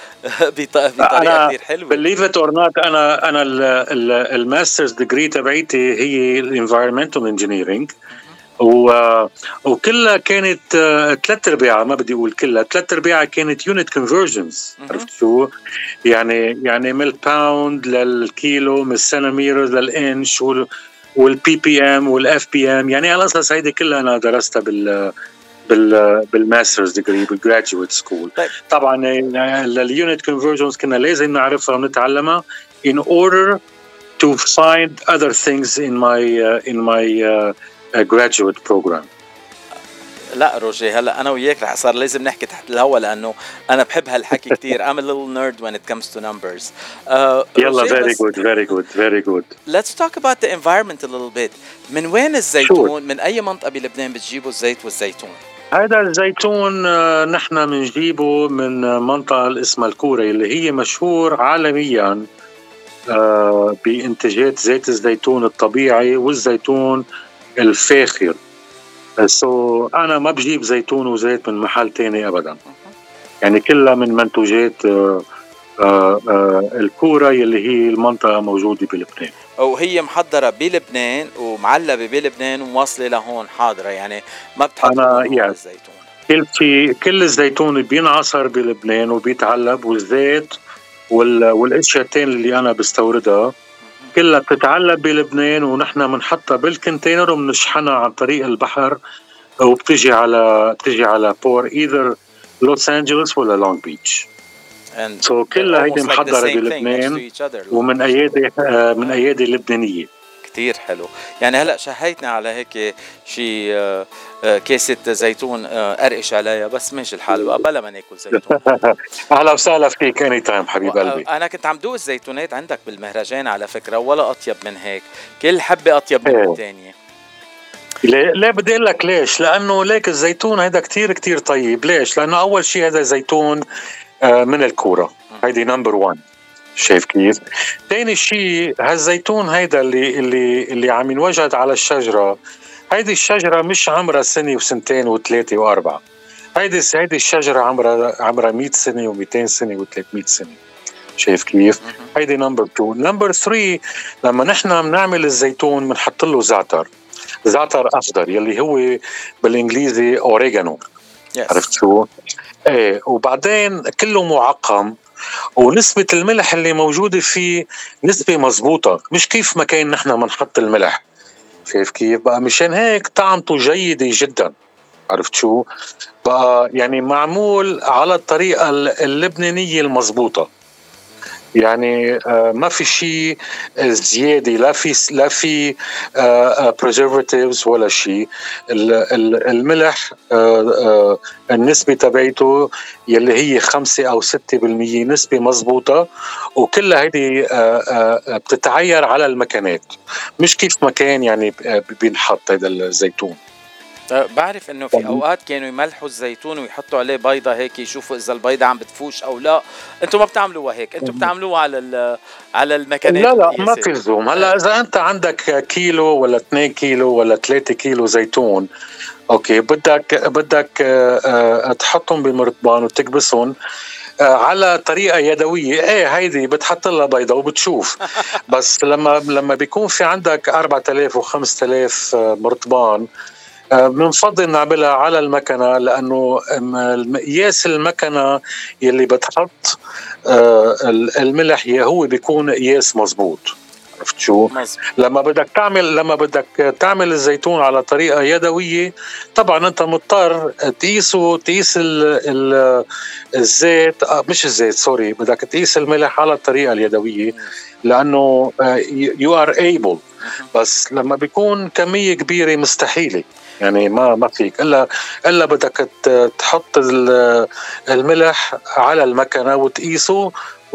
بطريقة كتير حلوة. believe it or not أنا أنا الماسترز ديجري تبعيتي هي environmental engineering، و وكلها كانت ثلاث ارباعها ما بدي اقول كلها ثلاث ارباعها كانت يونت كونفرجنز. عرفت شو يعني؟ يعني من الباوند للكيلو، من السنتيمتر للانش، والبي بي ام والاف بي ام، يعني على اساس هيدي كلها انا درستها بال بال بالماسترز ديجري بالجراduate سكول. طبعا اليونت كونفرجنز كنا لازم نعرفها ونتعلمها in order to find other things in my uh, in my uh, uh, graduate program. لا روجي، هلا انا وياك رح صار لازم نحكي تحت الهوا لانه انا بحب هالحكي كتير. I'm a little nerd when it comes to numbers. uh, يلا very good very good very good. Let's talk about the environment a little bit. من وين الزيتون؟ من اي منطقة بلبنان بتجيبوا الزيت والزيتون؟ هذا الزيتون نحن بنجيبه من منطقة اسمها الكورة اللي هي مشهور عالميا بإنتاجات زيت الزيتون الطبيعي والزيتون الفاخر. سو so, أنا ما بجيب زيتون وزيت من محل تاني أبدا، يعني كلها من منتوجات آآ آآ الكورة اللي هي المنطقة موجودة بلبنان، وهي محضرة بلبنان ومعلبة بلبنان وواصلة لهون حاضرة، يعني ما بتحطوا يعني الزيتون. كل شيء كل الزيتون بينعصر بلبنان وبيتعلب، والزيت وال والاشياء الثانيه اللي انا بستوردها كلها بتتعلب بلبنان، ونحن بنحطها بالكونتينر وبنشحنها عن طريق البحر وبتجي على بتجي على بور ايذر لوس انجلوس ولا لونج بيتش. سو so كلها هيدي محضره like بلبنان ومن ايادي من ايادي لبنانيه. كتير حلو. يعني هلا شهيتنا على هيك شي كاسة زيتون أرقش عليها، بس ماشي الحال بلا ما ناكل زيتون. أهلا وسهلا فيك اني تايم حبيب قلبي. أنا كنت عم دوق الزيتونات عندك بالمهرجان على فكرة، ولا أطيب من هيك، كل حبة أطيب من الثانية. ليه ليه بدي أقول لك ليش؟ لأنه ليك الزيتون هيدا كتير كتير طيب. ليش؟ لأنه أول شيء هذا زيتون من الكورة، هيدي نمبر وان. شايف كيف؟ تاني شيء هالزيتون هيدا اللي اللي اللي عم ينوجد على الشجرة، هيدي الشجرة مش عمرها سنة وسنتين وثلاثة وأربعة. هيدي هيدي الشجرة عمرها عمرها مئة سنة ومئتين سنة وثلاثمئة سنة. شايف كيف؟ هيدي نمبر تو. نمبر ثري، لما نحن بنعمل الزيتون بنحط له زعتر، زعتر أخضر يلي هو بالإنجليزي أوريغانو. yes. عرفت شو؟ إيه، وبعدين كله معقم، ونسبة الملح اللي موجودة فيه نسبة مزبوطة، مش كيف ما كان نحن منحط الملح. شايف كيف؟ بقى مشان هيك طعمته جيدة جدا. عرفت شو؟ بقى يعني معمول على الطريقة اللبنانية المزبوطة، يعني آه ما في شيء زيادة، لا في لا في آه preservatives ولا شيء. الملح آه آه النسبة تبعته يلي هي خمسة أو ستة بالمية نسبة مزبوطة، وكلها هيدي آه آه بتتعير على المكانات، مش كيف مكان يعني بينحط هذا الزيتون. بعرف انه في اوقات كانوا يملحوا الزيتون ويحطوا عليه بيضة هيك يشوفوا اذا البيضة عم بتفوش او لا. انتم ما بتعملوها هيك، انتم بتعملوها على على المكانات. لا لا ما في لزوم. هلا اذا انت عندك كيلو ولا اثنين كيلو ولا ثلاثة كيلو زيتون، اوكي، بدك بدك تحطهم بمرطبان وتكبسهم على طريقة يدوية. ايه هيدي بتحط لها بيضة وبتشوف. بس لما لما بيكون في عندك أربعة آلاف وخمسة آلاف مرطبان، بنفضل نعملها على المكنة، لأنه قياس المكنة يلي بتحط الملح هو بيكون قياس مزبوط. عرفت شو؟ لما بدك تعمل لما بدك تعمل الزيتون على طريقة يدوية، طبعا أنت مضطر تقيسه تقيس ال ال الزيت مش الزيت سوري بدك تقيس الملح على الطريقة اليدوية، لأنه you are able. بس لما بيكون كمية كبيرة مستحيلة، يعني ما ما فيك الا الا بدك تحط الملح على المكنه وتقيسه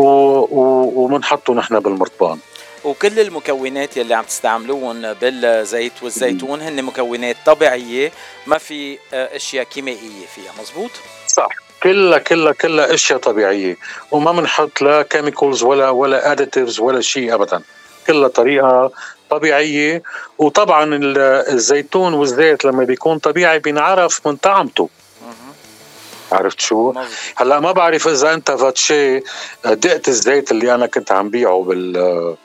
وبنحطه نحن بالمرطبان. وكل المكونات يلي عم تستعملوهم بالزيت والزيتون هن مكونات طبيعيه، ما في اشياء كيميائيه فيها، مزبوط؟ صح، كلها كلها كلها اشياء طبيعيه، وما بنحط لا كيميكالز ولا ولا اديتيفز ولا شيء ابدا، كلها طريقه طبيعية. وطبعا الزيتون والزيت لما بيكون طبيعي بينعرف من طعمته. عرفت شو؟ هلا ما بعرف اذا انت فاتشي دقت الزيت اللي انا كنت عم بيعه بال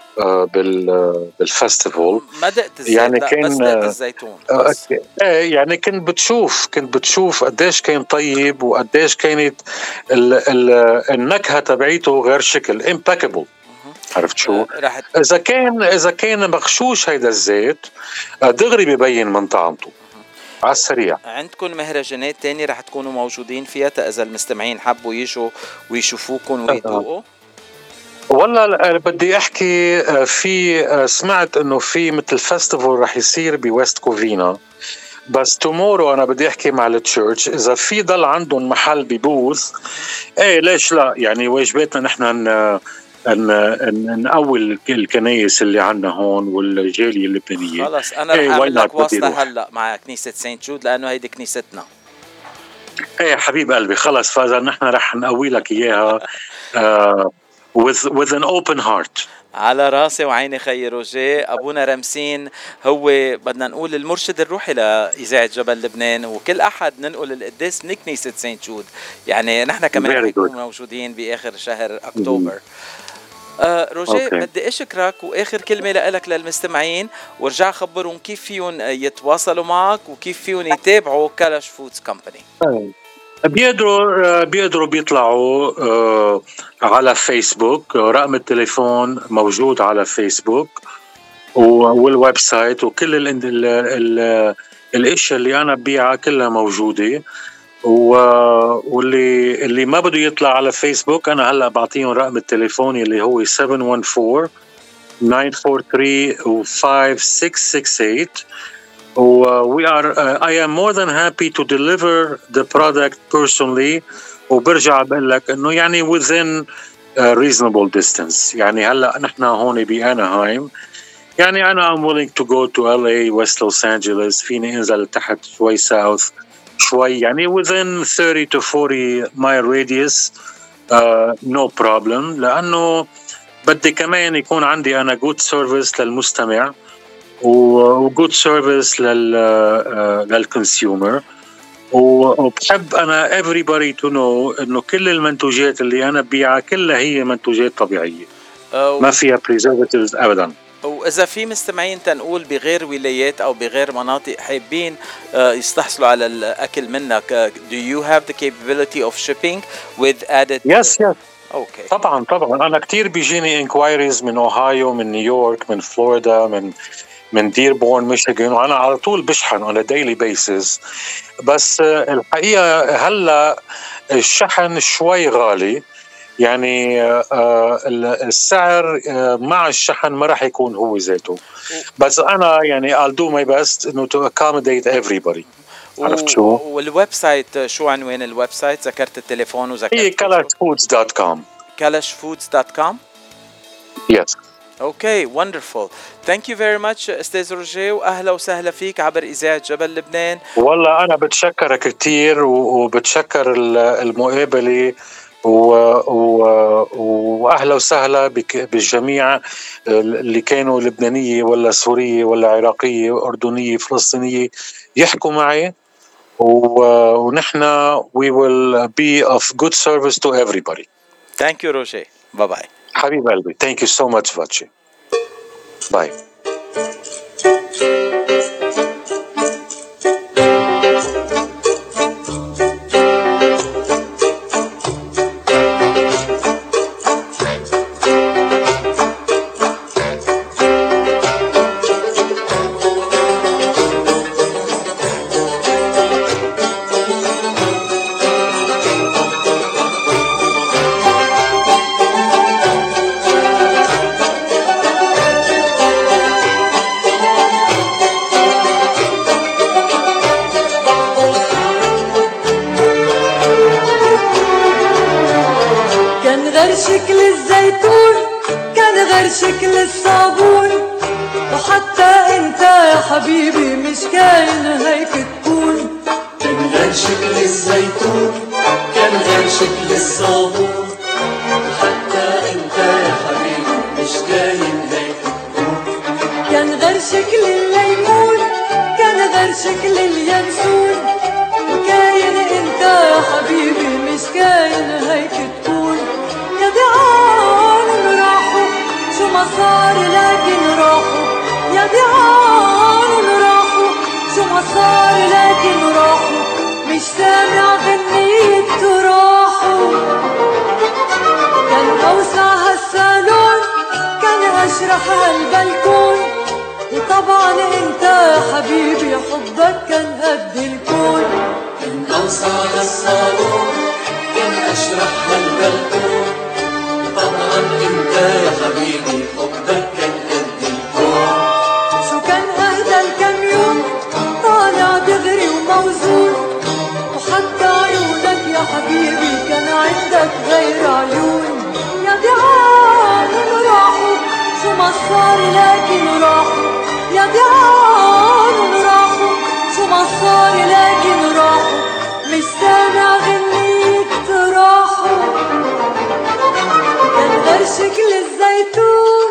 بال بالفستيفال. ما دقت الزيت، يعني لا كان بس دقت الزيتون بس. ايه يعني كنت بتشوف كنت بتشوف قديش كان طيب وقديش كانت ال ال النكهة تبعيته غير شكل impeccable. عرفت شو؟ إذا كان إذا كان مغشوش هيدا الزيت دغري ببين من طعمته. على السريع. عندكم مهرجانات تاني رح تكونوا موجودين فيها إذا المستمعين حبوا يجوا ويشوفوكم ويدوقوا؟ والله بدي احكي في سمعت انه في مثل فestival رح يصير بويست كوفينا، بس تومورو انا بدي احكي مع التشيرش اذا في ضل عندهم محل ببوث ايه ليش لا، يعني واجباتنا نحن ان نقوي الكنايس اللي عندنا هون والجاليه اللبنانيه. خلص انا رح اعمل لك واسطه هلا مع كنيسه سانت جود لانه هيدي كنيستنا. ايه حبيب قلبي خلص، فاذا نحن رح نقوي لك اياها uh, with with an open heart. على راسي وعيني خي روجيه. ابونا رمسين هو بدنا نقول المرشد الروحي لاذاعه جبل لبنان، وكل احد ننقل القداس من كنيسه سانت جود، يعني نحن كمان نكون موجودين باخر شهر اكتوبر. آه روجيه okay. بدي اشكرك، واخر كلمه لك للمستمعين، ورجع خبرهم كيف فيهم يتواصلوا معك وكيف فيهم يتابعوا كلاش فودز كومباني. بيقدروا بيقدروا بيطلعوا آه على فيسبوك، رقم التليفون موجود على فيسبوك والويب سايت، وكل ال ال ال الاشياء اللي انا ببيعها كلها موجوده. واللي اللي ما بده يطلع على فيسبوك انا هلا بعطيهم رقم التليفون اللي هو سبعة واحد أربعة تسعة أربعة ثلاثة خمسة ستة ستة ثمانية. we are uh, I am more than happy to deliver the product personally. وبرجع بقول لك انه يعني within uh, reasonable distance. يعني هلا نحن هون بأناهايم، يعني انا I'm willing to go to إل إيه West Los Angeles، فيني انزل تحت شوي south شوي، يعني within thirty to forty mile radius uh, no problem، لانه بدي كمان يكون عندي انا good service للمستمع و good service لل للكونسيومر. وبحب انا everybody to know انه كل المنتوجات اللي انا ببيعها كلها هي منتوجات طبيعيه ما فيها preservatives ابدا. وإذا في مستمعين تنقول بغير ولايات أو بغير مناطق حابين يستحصلوا على الأكل منك، do you have the capability of shipping with added? Yes, yes. Okay. طبعا طبعا أنا كتير بيجيني inquiries من أوهايو، من نيويورك، من فلوريدا، من من ديربورن ميشيغان، وأنا على طول بشحن on a daily basis. بس الحقيقة هلا الشحن شوي غالي، يعني السعر مع الشحن ما راح يكون هو ذاته، بس أنا يعني I'll do my best إنه to accommodate everybody. عرفت شو؟ والويب سايت شو عنوان الويب سايت؟ ذكرت التليفون وذكرت هي كلاش فودز دوت كوم. كلاش فودز دوت كوم. Yes. اوكي wonderful. thank you very much استاذ روجيه، واهلا وسهلا فيك عبر اذاعه جبل لبنان. والله انا بتشكرك كثير وبتشكر المقابله و... و... واهلا وسهلا بك بالجميع اللي كانوا لبنانيه ولا سوريه ولا عراقيه اردنيه فلسطينيه يحكوا معي، و... ونحن we will be of good service to everybody. thank you روجيه. باي باي حبيب قلبي. thank you so much فاتشي. باي. شكل الزيتون كان غير شكل الصابون، وحتى انت يا حبيبي مش كاين هيك تكون. كان غير شكل الزيتون كان غير شكل الصابون، وحتى انت يا حبيبي مش كاين هيك تكون. كان غير شكل الليمون كان غير شكل اليانسون، وكاين انت يا حبيبي مش كاين هيك تكون. يا دعان راحوا شو ما صار لكن راحوا، يا دعان راحوا شو ما صار لكن راحوا، مش سامع غنية راحوا. كان أوسع هالصالون كان أشرح هالبلكون، وطبعا انت انت يا حبيبي حبك كان قد الكون، كان أوسع للصالون، كان أشرح للبلكون. طبعا انت يا حبيبي حبك كان قد الكون. شو كان اهدى الكم يوم طالع دغري وموزون، وحتى عيونك يا حبيبي كان عندك غير عيون. يا دي عالم راحوا شو ما صار لكن راحوا، يا دي عالم راحوا شو ما صار لكن راحوا. مش سامع غنيت راحوا، كان غير شكل الزيتون.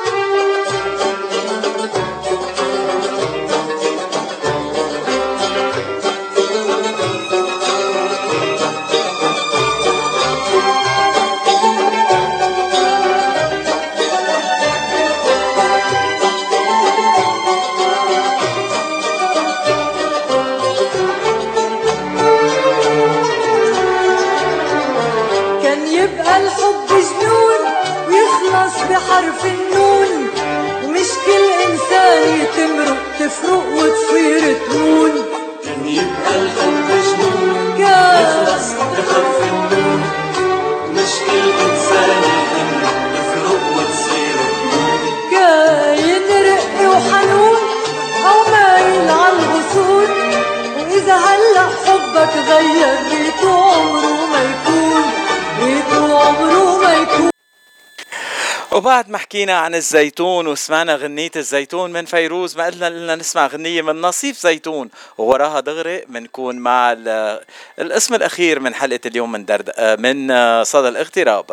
بحرف النون، ومش كل إنسان يتمرق تفرق وتصير تنون. كان يبقى الحب جنون يخلص بحرف النون، ومش كل إنسان يتمرق تفرق وتصير تنون. كاين رق وحنون أو مايل عالغصون، وإذا هلأ حبك غير ريته عمره ما يكون، ريته عمره ما يكون. وبعد ما حكينا عن الزيتون وسمعنا غنية الزيتون من فيروز، ما قلنا لنا نسمع غنية من نصيف زيتون، ووراها دغري منكون مع الاسم الأخير من حلقة اليوم من درد من صدى الاغتراب.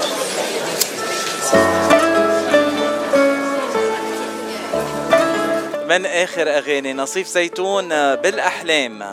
من آخر أغاني نصيف زيتون بالأحلام.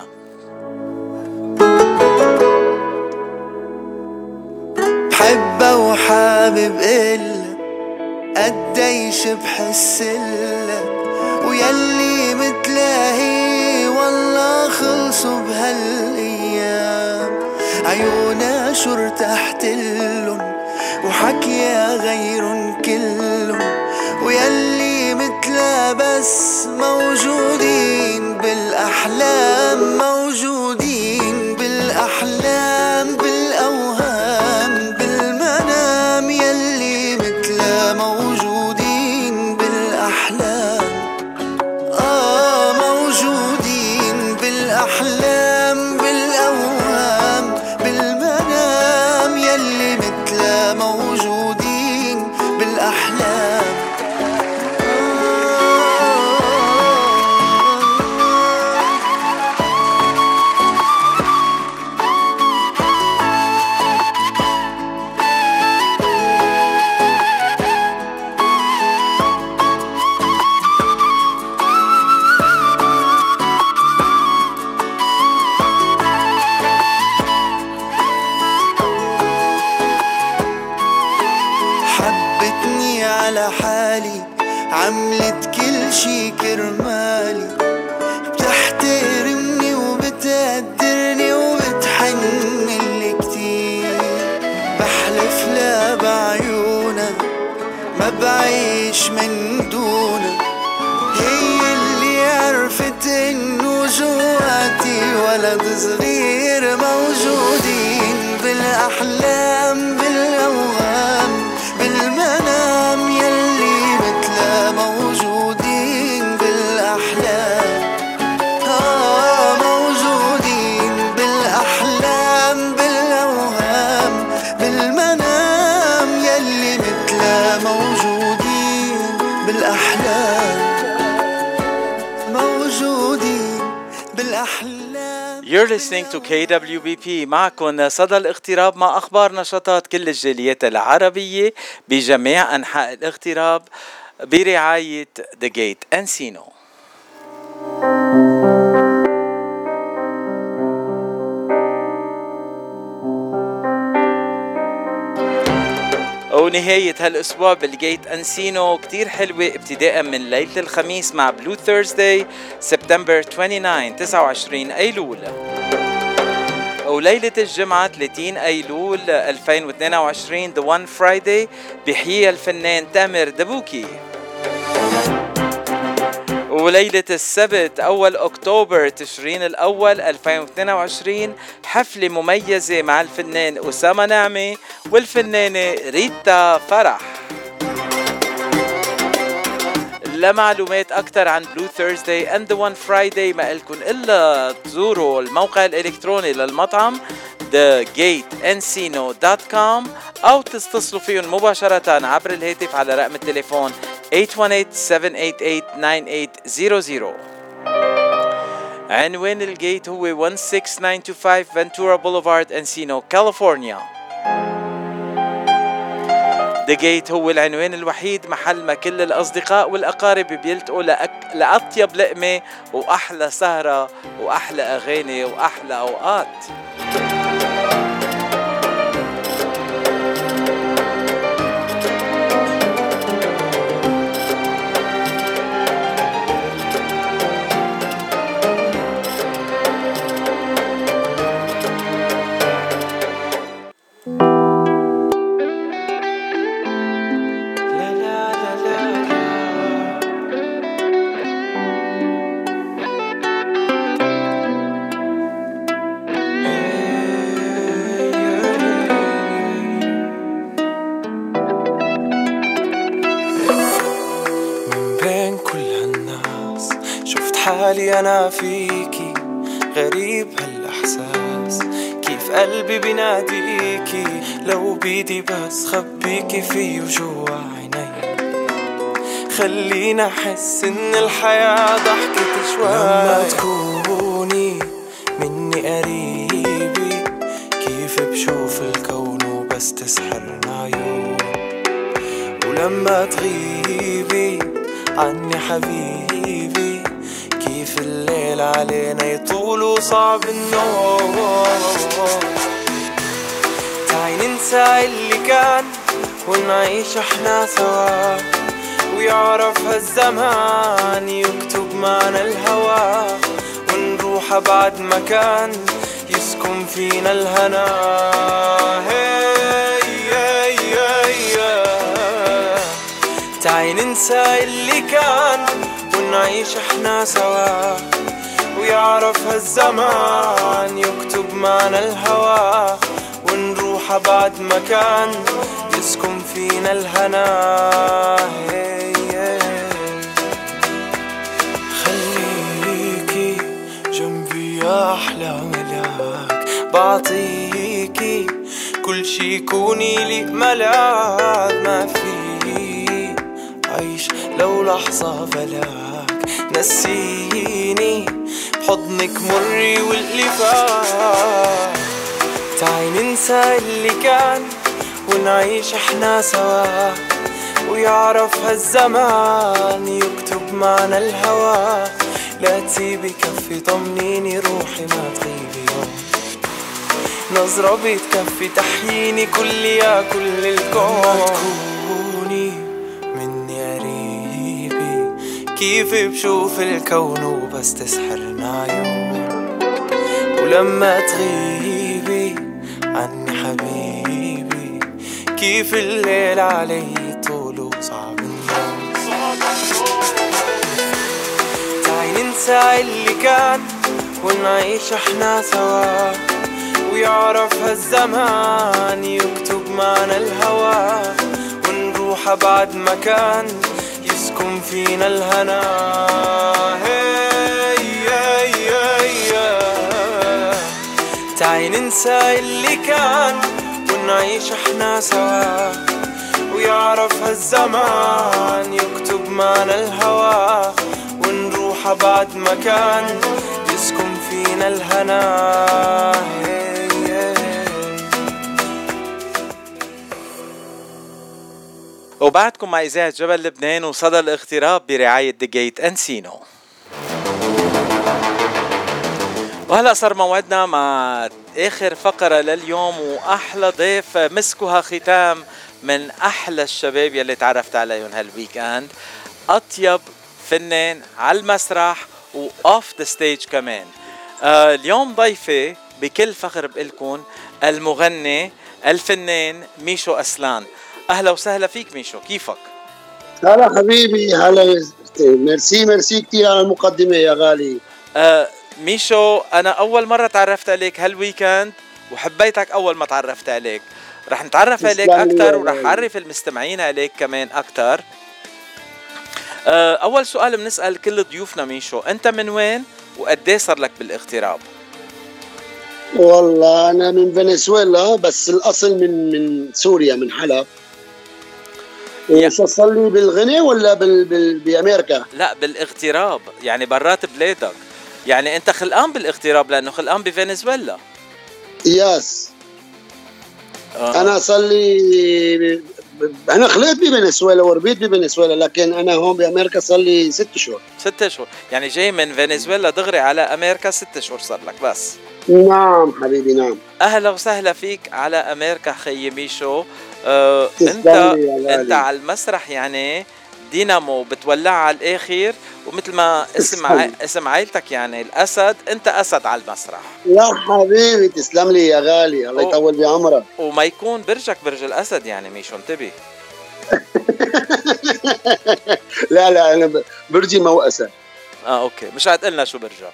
بحبه وحابب إلا قديش بحسلك، ويلي متلاهي والله خلصوا بهالأيام. عيونا شو ارتحتلن وحكيا غيرن كلن، ويلي متلا بس موجودين بالأحلام، موجودين بالأحلام بالأوهام بالمنام. يلي متلا موجودين بالأحلام، آه موجودين بالأحلام بالأوهام بالمنام. يلي متلا موجودين بالأحلام. حالي عملت كل شي كرمالي، بتحترمني وبتقدرني وبتحنلي كتير. بحلف لا بعيونها ما بعيش من دونها، هي اللي عرفت انه جواتي ولد صغير. موجودين بالاحلام بالاوهام بالمنام. يلي متلا موجودين بالاحلام، آه موجودين بالاحلام بالاوهام بالمنام. يلي متلا موجودين بالاحلام، موجودين بالاحلام. You're listening to كي دبليو بي بي. معكم صدى الاغتراب مع أخبار نشاطات كل الجاليات العربية بجميع أنحاء الاغتراب برعاية The Gate Encino. ونهاية هالأسبوع بالجيت أنسينو كتير حلوة، ابتداء من ليلة الخميس مع بلو ثيرزداي سبتمبر تسعة وعشرين أيلول، وليلة الجمعة ثلاثين أيلول ألفين واثنين وعشرين The One Friday بيحييها الفنان تامر دبوكي. وليلة السبت أول أكتوبر تشرين الأول ألفين واثنين وعشرين حفلة مميزة مع الفنان أسامة نعمة والفنانة ريتا فرح. لمعلومات أكتر عن بلو ثيرزداي and the one Friday ما إلكن إلا تزوروا الموقع الإلكتروني للمطعم ذا جيت انسينو دوت كوم أو تتصلوا فيهم مباشرة عبر الهاتف على رقم التليفون eight one eight seven eight eight nine eight zero zero. عنوان الجيت هو one six nine two five Ventura Boulevard Encino كاليفورنيا. The Gate هو العنوان الوحيد محل ما كل الأصدقاء والأقارب بيلتقوا لأك... لأطيب لقمة وأحلى سهرة وأحلى أغاني وأحلى أوقات. حالي أنا فيكي غريب هالإحساس كيف قلبي بناديكي لو بيدي بس خبيكي فيه وجوا عيني خلينا أحس إن الحياة ضحكت شوي لما تكوني مني قريبي كيف بشوف الكون وبس تسحرنا عيون ولما تغيبي عني حبيبي كيف الليل علينا يطول وصعب النوم تعي ننسى اللي كان ونعيش احنا سوا ويعرف هالزمان يكتب معنا الهوى ونروح أبعد مكان يسكن فينا الهنا هي هي هي تعي ننسى اللي كان ونعيش احنا سوا ويعرف هالزمان يكتب معنا الهوى ونروح أبعد مكان يسكن فينا الهنا خليكي جنبي يا أحلى ملاك بعطيكي كل شي كوني لي ملاك ما في عيش لو لحظة بلاك نسيني بحضنك مري واللي فات تعي ننسى اللي كان ونعيش احنا سوا ويعرف هالزمان يكتب معنا الهوى لا تسيبي كفي طمنيني روحي ما تغيبي يوم نظرة بتكفي تحييني كل يا كل الكون كيف بشوف الكون وبس تسحرنا عيون ولما تغيبي عني حبيبي كيف الليل علي طول وصعب النوم تعي ننسى اللي كان ونعيش احنا سوا ويعرف هالزمان يكتب معنا الهوى ونروح أبعد مكان يسكن فينا الهنا هي هي هي تعي ننسى اللي كان ونعيش احنا سوا ويعرف هالزمان يكتب معنا الهوى ونروح أبعد مكان يسكن فينا الهنا هي هي. وبعدكم مع إذاعة جبل لبنان وصدى الاغتراب برعاية The Gate Encino. وهلأ صار موعدنا مع آخر فقرة لليوم وأحلى ضيف مسكوها ختام من أحلى الشباب يلي تعرفت عليهم هالويكاند أطيب فنان على المسرح وأوف ذا ستيج كمان. آه اليوم ضيفي بكل فخر بقلكن المغني الفنان ميشو أسلان. أهلا وسهلا فيك ميشو، كيفك؟ هلا حبيبي، هلا. ميرسي ميرسي كثير على المقدمة يا غالي. آه ميشو، أنا أول مرة تعرفت عليك هالويكند وحبيتك أول ما تعرفت عليك. رح نتعرف عليك أكتر ورح أعرف المستمعين عليك كمان أكتر. آه أول سؤال بنسأل كل ضيوفنا ميشو، أنت من وين وقديه صار لك بالاغتراب؟ والله أنا من فنزويلا، بس الأصل من من سوريا، من حلب. وش صار لي بالغنى ولا بال بال بأمريكا؟ لا بالاغتراب، يعني برات بلادك. يعني أنت خلقان بالاغتراب لأنه خلقان بفنزويلا. ياس. آه. أنا صار لي، أنا خلقت بفنزويلا وربيت بفنزويلا، لكن أنا هون بأمريكا صار لي ست شهور. ست شهور، يعني جاي من فنزويلا دغري على أمريكا، ست شهور صار لك بس. نعم حبيبي نعم. أهلا وسهلا فيك على أمريكا خيي ميشو. آه أنت أنت على المسرح يعني دينامو، بتولع على الآخر، ومثل ما اسم ع... اسم عائلتك يعني الأسد، أنت أسد على المسرح. يا حبيبي تسلم لي يا غالي، الله يطول بعمرك. وما يكون برجك برج الأسد يعني ميشو، انتبه. لا لا أنا برجي موأسة. آه أوكي، مش هتقلنا شو برجك.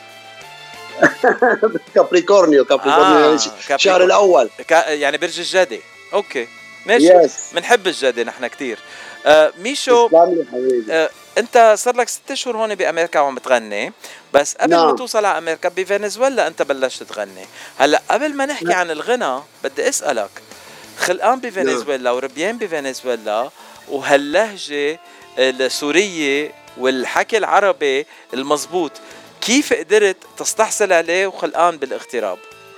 كابريكورنيو. كابريكورنيو آه الشهر الأول، كا... يعني برج الجدي. أوكي ماشي، بنحب الجدي نحن كتير. آه ميشو، آه انت صار لك ست شهور هون بامريكا وعم تغني، بس قبل نعم. ما توصل على امريكا بفنزويلا انت بلشت تغني. هلا قبل ما نحكي نعم. عن الغنى بدي اسالك، خلقان بفنزويلا نعم. وربيان بفنزويلا، وهاللهجه السوريه والحكي العربي المزبوط، كيف قدرت تستحصل عليه وخلقان بالاغتراب؟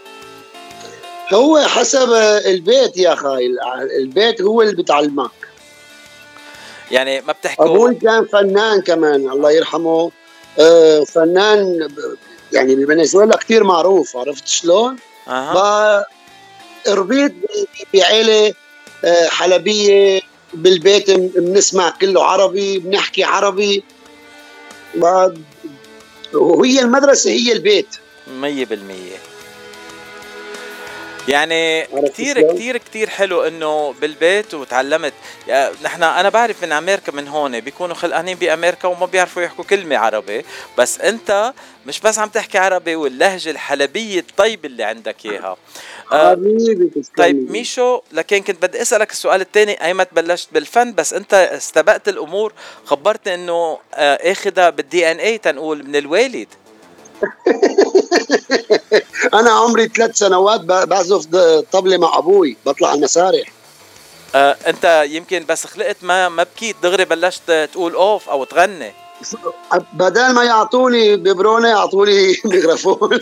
هو حسب البيت يا خاي، البيت هو اللي بتعلمك. يعني ما بتحكوا. أبوي كان فنان كمان الله يرحمه، آه فنان يعني بفنزويلا كتير معروف، عرفت شلون؟ أه. ربيت بعيلة آه حلبية، بالبيت بنسمع كله عربي، بنحكي عربي، وهي المدرسة هي البيت مية بالمية. يعني كتير كتير كتير حلو انه بالبيت وتعلمت. يعني نحن انا بعرف من امريكا من هون بيكونوا خلقانين بامريكا وما بيعرفوا يحكوا كلمة عربي، بس انت مش بس عم تحكي عربي، واللهجة الحلبية الطيبة اللي عندك اياها. حبيبي آه طيب ميشو، لكن كنت بدي اسألك السؤال الثاني، ايمت بلشت بالفن، بس انت استبقت الامور، خبرتني انه آه اخذها بالدي ان اي تنقول من الوالد. أنا عمري ثلاث سنوات بعزف طبلة مع أبوي، بطلع على المسارح. آه، أنت يمكن بس خلقت ما ما بكيت دغري بلشت تقول أوف أو تغني. بدل ما يعطوني ببرونة يعطوني ميكروفون.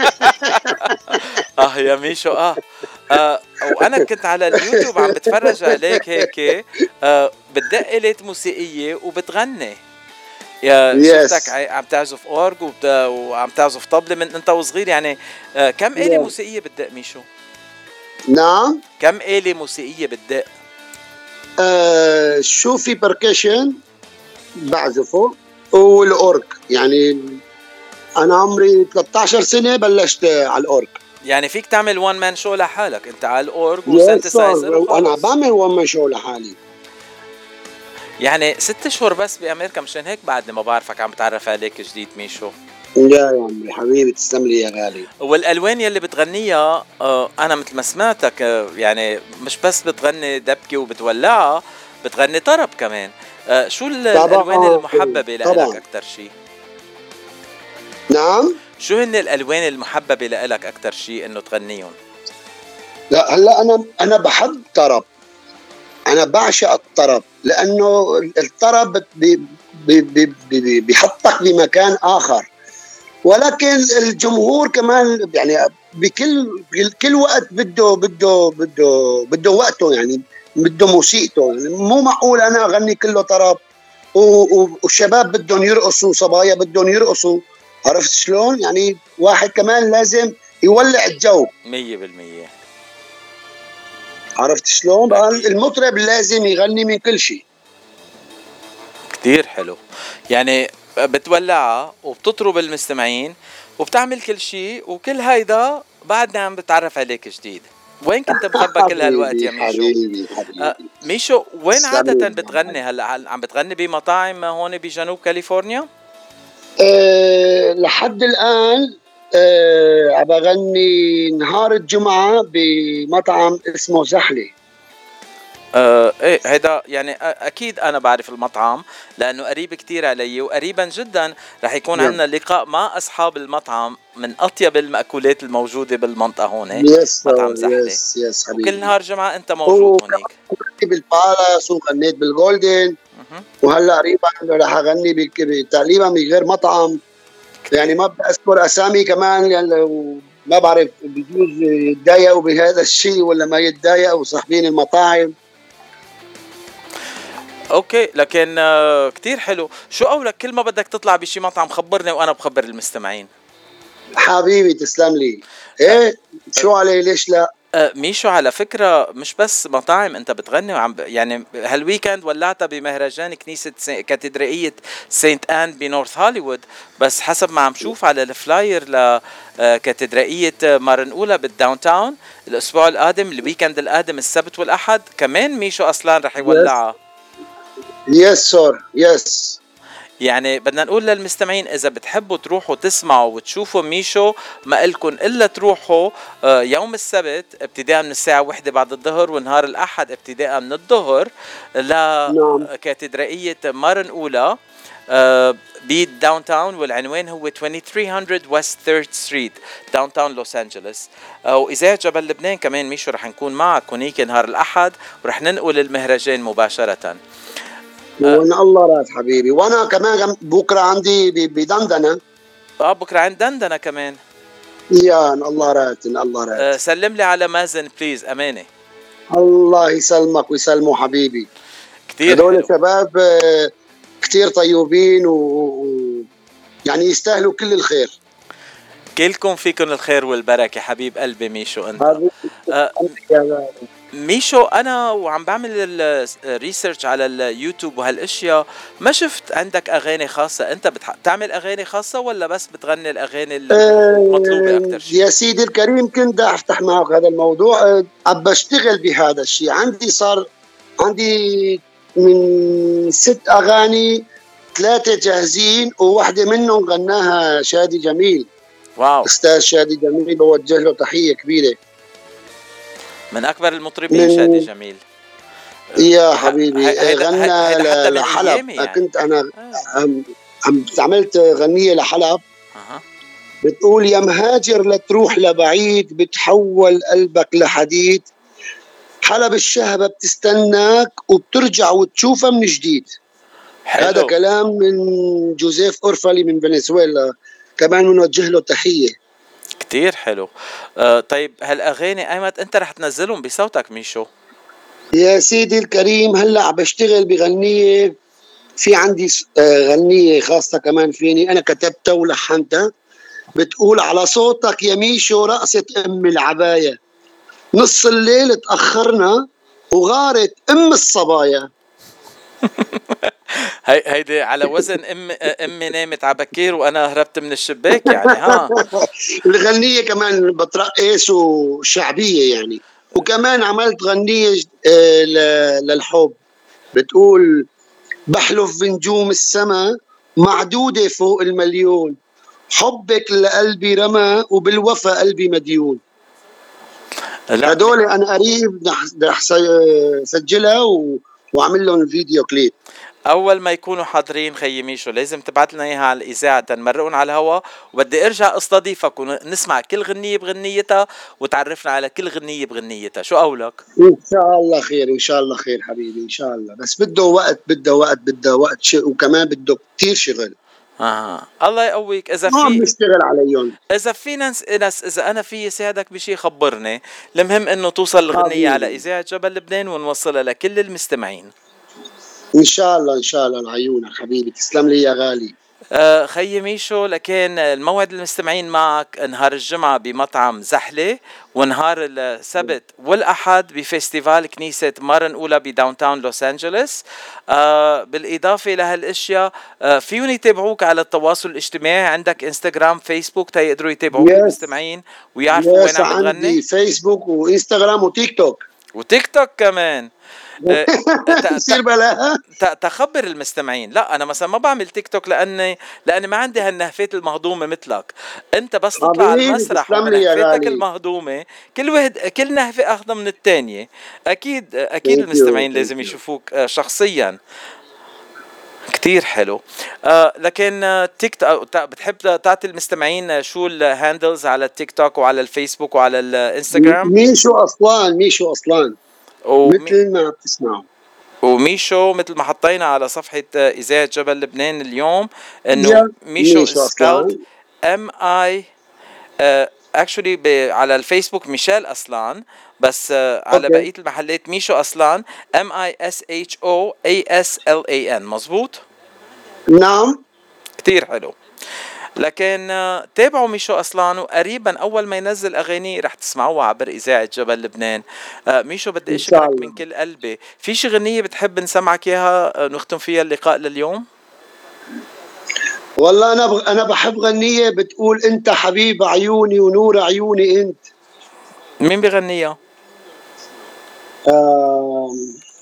آه يا ميشو آه. آه وأنا كنت على اليوتيوب عم بتفرج عليك هيك، آه بتدق آلة موسيقية وبتغني. يا شفتك عم تعزف اورج وعم تعزف طبلة من انت وصغير، يعني آه كم آلة موسيقية بتدق ميشو؟ نعم كم آلة موسيقية بتدق؟ آه شو في بركشن بعزفه والاورج، يعني انا عمري ثلاثة عشر سنة بلشت على الاورج. يعني فيك تعمل وان مان شو لحالك انت على الاورج وسنتسايزر؟ انا بعمل وان مان شو لحالي. يعني ست شهور بس بأمريكا، مشان هيك بعدني ما بعرفك عم بتعرف عليك جديد ميشو. يا يا عمري حبيبي تسلم لي يا غالي. والألوان يلي بتغنيها آه أنا مثل ما سمعتك آه يعني مش بس بتغني دبكة وبتولعها، بتغني طرب كمان. آه شو الألوان المحببة لك أكتر شيء؟ نعم شو هن الألوان المحببة لك أكتر شيء إنه تغنيهم؟ لا هلا أنا أنا بحب طرب، أنا بعشق الطرب، لأنه الطرب بي بي بي بي بيحطك بمكان آخر، ولكن الجمهور كمان يعني بكل كل وقت بده بده بده بده وقته، يعني بده موسيقته. يعني مو معقول أنا أغني كله طرب والشباب بدهم يرقصوا، صبايا بدهم يرقصوا، عرفت شلون؟ يعني واحد كمان لازم يولع الجو مية بالمية. عرفت شلون؟ بقى المطرب لازم يغني من كل شيء. كتير حلو، يعني بتولعها وبتطرب المستمعين وبتعمل كل شيء، وكل هيدا بعدنا عم بتعرف عليك جديد. وين كنت مخبى كل هالوقت يا ميشو؟ حبيبي حبيبي آه ميشو وين تسلم عادة لي. بتغني هلا؟ هل عم بتغني بمطاعم هون بجنوب كاليفورنيا؟ أه لحد الآن أه عم بغني نهار الجمعة بمطعم اسمه زحلة. آه ايه هيدا يعني آه اكيد انا بعرف المطعم لانه قريب كتير علي، وقريبا جدا رح يكون نعم. عندنا لقاء مع اصحاب المطعم من اطيب المأكولات الموجودة بالمنطقة هون. يس مطعم زحلة. يس يس حبيبي. وكل نهار جمعة انت موجود هونيك. غنيت بالبالاس وغنيت بالجولدن، وهلا قريبا رح اغني بك- تقريبا بغير مطعم، يعني ما بدي اذكر اسامي كمان يعني ما بعرف بجوز يتضايقوا بهذا الشيء ولا ما يتضايقوا صاحبين المطاعم. اوكي لكن آه كتير حلو. شو قولك كل ما بدك تطلع بشي مطعم خبرني وانا بخبر المستمعين. حبيبي تسلم لي. ايه شو علي ليش لا. آه ميشو على فكرة مش بس مطاعم انت بتغني وعم ب... يعني هالويكند ولعتها بمهرجان كنيسة سي... كاتدرائية سينت آن بنورث هوليوود، بس حسب ما عم شوف على الفلاير لكاتدرائية مارنقولا بالداون تاون الاسبوع القادم الويكند القادم السبت والاحد كمان ميشو اصلا رح يولعها. يس سور يس. يعني بدنا نقول للمستمعين إذا بتحبوا تروحوا تسمعوا وتشوفوا ميشو ما إلكن إلا تروحوا يوم السبت ابتداء من الساعة واحدة بعد الظهر ونهار الأحد ابتداء من الظهر لكاتدرائية مارنقولا بالداون تاون، والعنوان هو ثلاثة آلاف ومئتين ويست ثيرد ستريت داون تاون لوس أنجلوس. وإذاعة جبل لبنان كمان ميشو رح نكون معك هنيك نهار الأحد ورح ننقل المهرجان مباشرة. وان الله راد حبيبي. وانا كمان بكره عندي بدندنه. اه بكره عند دندنه كمان. يا ان الله راد ان الله راد. آه سلم لي على مازن بليز امانه. الله يسلمك ويسلمه حبيبي. كثير هذول شباب آه كثير طيوبين و... و يعني يستاهلوا كل الخير. كلكم فيكم الخير والبركه حبيب قلبي ميشو انت. آه ميشو انا وعم بعمل الريسيرش على اليوتيوب وهالاشياء ما شفت عندك اغاني خاصه. انت بتعمل اغاني خاصه ولا بس بتغني الاغاني المطلوبه اكثر شيء؟ يا سيدي الكريم كنت افتح معك هذا الموضوع. عم بشتغل بهذا الشيء. عندي صار عندي من ست اغاني ثلاثه جاهزين وواحده منهم غناها شادي جميل. واو استاذ شادي جميل بوجه له تحيه كبيره. من اكبر المطربين من شادي جميل. يا حبيبي غنى لحلب يعني. كنت انا عم عملت غنيه لحلب. أه. بتقول يا مهاجر لا تروح لبعيد بتحول قلبك لحديد، حلب الشهبه بتستناك وبترجع وتشوفها من جديد. حلو. هذا كلام من جوزيف اورفالي من فنزويلا كمان بنوجه له تحيه. كتير حلو. آه طيب هالاغاني ايمت انت رح تنزلهم بصوتك ميشو؟ يا سيدي الكريم هلا عم بشتغل بغنيه، في عندي غنيه خاصه كمان فيني انا كتبتها ولحنتها. بتقول على صوتك يا ميشو رقصة ام العبايه، نص الليل تاخرنا وغارت ام الصبايا. هي هيدي على وزن ام امي نامت على بكير وانا هربت من الشباك يعني. ها الغنيه كمان بترقص وشعبيه يعني. وكمان عملت غنيه للحب بتقول بحلف بنجوم السما معدوده فوق المليون، حبك لقلبي رمى وبالوفا قلبي مديون. هدول انا قريب رح سجلها و... واعمل لهم فيديو كليب. اول ما يكونوا حاضرين خيي ميشو لازم تبعت لنا اياها على الاذاعه تنمرقون على الهواء، وبدي ارجع استضيفك ونسمع كل غنيه بغنيتها وتعرفنا على كل غنيه بغنيتها. شو قولك؟ ان شاء الله خير ان شاء الله خير حبيبي ان شاء الله. بس بده وقت بده وقت بده وقت ش... وكمان بده كتير شغل. اه الله يقويك. اذا في ما بنشتغل عليهم. اذا في ناس ناس اذا انا في ساعدك بشيء خبرني. المهم انه توصل الغنيه على اذاعه جبل لبنان ونوصلها لكل المستمعين ان شاء الله ان شاء الله. لعيونك حبيبي تسلم لي يا غالي. آه خيي ميشو، لكن الموعد المستمعين معك نهار الجمعة بمطعم زحلة، ونهار السبت والأحد بفستيفال كنيسة مارن أولى بداون تاون لوس أنجلوس. آه بالإضافة لهالأشياء آه فيهم يتابعوك على التواصل الاجتماعي، عندك انستغرام فيسبوك تيقدروا يتابعوك Yes. المستمعين ويعرفوا وين يس عم بتغني. عندي فيسبوك وانستغرام وتيك توك وتيك توك كمان. آه، ت- بصير بلاها. ت- تخبر المستمعين. لا انا مثلا ما بعمل تيك توك لاني لاني ما عندي هالنهفات المهضومه مثلك. انت بس تطلع على حبيبي المسرح تسلم لي يا وبنهفتك غالي. المهضومه، كل واحد كل نهفه اخذها من الثانيه. اكيد اكيد Thank you, المستمعين thank لازم you. يشوفوك آه، شخصيا. كتير حلو. آه لكن آه، تيك توك بتحب تعطي المستمعين آه، شو الهاندلز على التيك توك وعلى الفيسبوك وعلى الانستغرام؟ ميشو أصلان ميشو أصلان ومي- مثل ما بتسمعوا. وميشو مثل ما حطينا على صفحة آه، إذاعة جبل لبنان اليوم انه يا ميشو ميشو is spelled أصلان. ام اي actually على الفيسبوك ميشيل أصلان، بس آه، على أوكي. بقية المحلات ميشو أصلان ام اي اس اتش او اي اس ال اي ان. مزبوط؟ نعم. كتير حلو. لكن آه، تابعوا ميشو أصلان، وقريبا أول ما ينزل أغاني رح تسمعوها عبر إذاعة جبل لبنان. آه، ميشو بدي إن شاء أشكرك الله. من كل قلبي. في شي غنية بتحب نسمعك إياها آه، نختم فيها اللقاء لليوم؟ والله أنا بغ... أنا بحب غنية بتقول أنت حبيب عيوني ونور عيوني أنت. مين بغنيها؟ آم...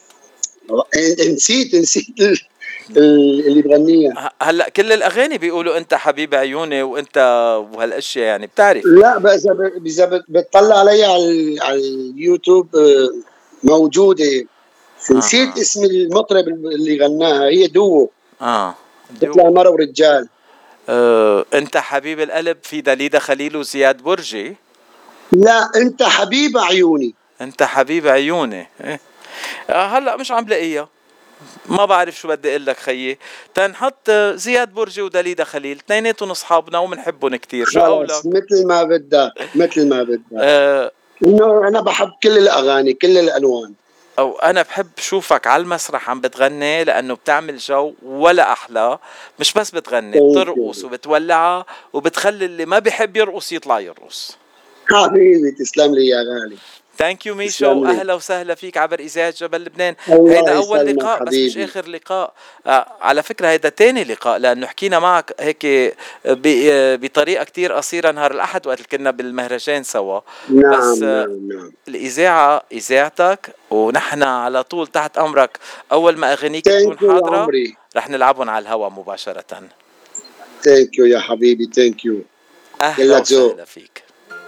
نسيت نسيت ال- ال- اللي بغنيها. ه- هلا كل الأغاني بيقولوا أنت حبيب عيوني وأنت وهالأشياء، يعني بتعرف. لا بس إذا إذا بت- بتطلع علي على ال- على اليوتيوب آه، موجودة. نسيت آه. اسم المطرب اللي غناها، هي دوو آه بتطلع مرة ورجال. آه، أنت حبيب القلب في دليدا خليل وزياد برجي. لا أنت حبيب عيوني. أنت حبيب عيوني. إيه. آه هلا مش عم لاقيها، ما بعرف شو بدي اقول لك خيي. تنحط زياد برجي ودليدا خليل، اثنيناتهم اصحابنا وبنحبهم كتير. شو قولك؟ خلص مثل ما بدك مثل ما بدك. آه انه انا بحب كل الاغاني كل الالوان. او انا بحب شوفك على المسرح عم بتغني، لانه بتعمل جو ولا احلى. مش بس بتغني، بترقص وبتولعها وبتخلي اللي ما بيحب يرقص يطلع يرقص. حبيبي تسلم لي يا غالي. ثانك يو ميشو، تسلم لي. اهلا وسهلا فيك عبر اذاعه جبل لبنان. الله هيدا اول يسلمك لقاء بس مش حبيبي. اخر لقاء. آه على فكره هيدا تاني لقاء، لانه حكينا معك هيك ب- آه، بطريقه كتير قصيره نهار الاحد وقت اللي كنا بالمهرجان سوا. نعم بس آه، نعم نعم. الاذاعه اذاعتك، ونحن على طول تحت امرك. اول ما اغانيك تكون ثانك يو يا حاضره عمري. رح نلعبهم على الهواء مباشره. ثانك يو يا حبيبي ثانك يو. اهلا وسهلا فيك.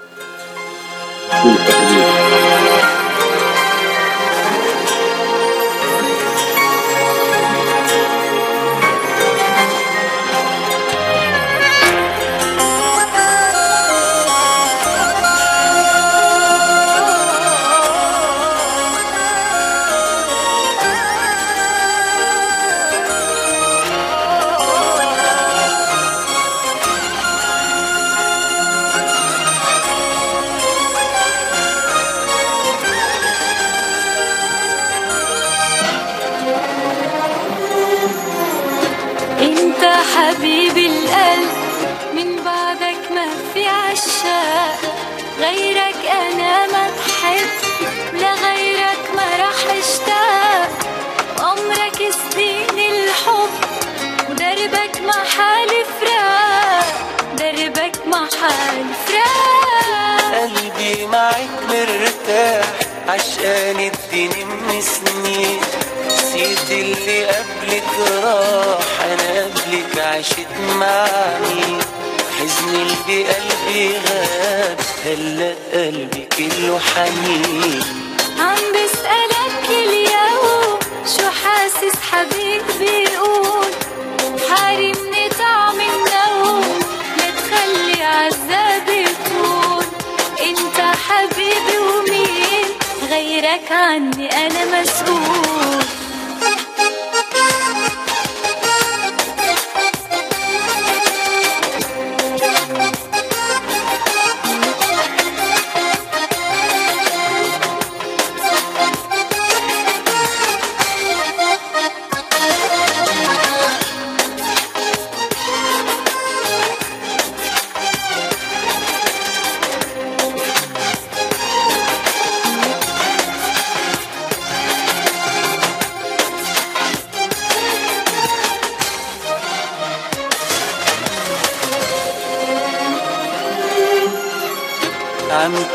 انت حبيبي القلب، من بعدك ما في عشاق، غيرك انا ما بحب، لغيرك ما رح اشتاق. عمرك سنين الحب، ودربك ما حالي فراق، دربك ما حالي فراق. قلبي معك مرتاح، عشقان الدنيا من سنين، نسيت اللي قبلك راح، انا قبلك عشت مع مين. حزن اللي بقلبي غاب، هلا قلبي كله حنين. عم بسألك اليوم شو حاسس حبيبي، قول حارمني طعم النوم، لا تخلي عذابي طول. انت حبيبي ومين غيرك عني انا مسؤول.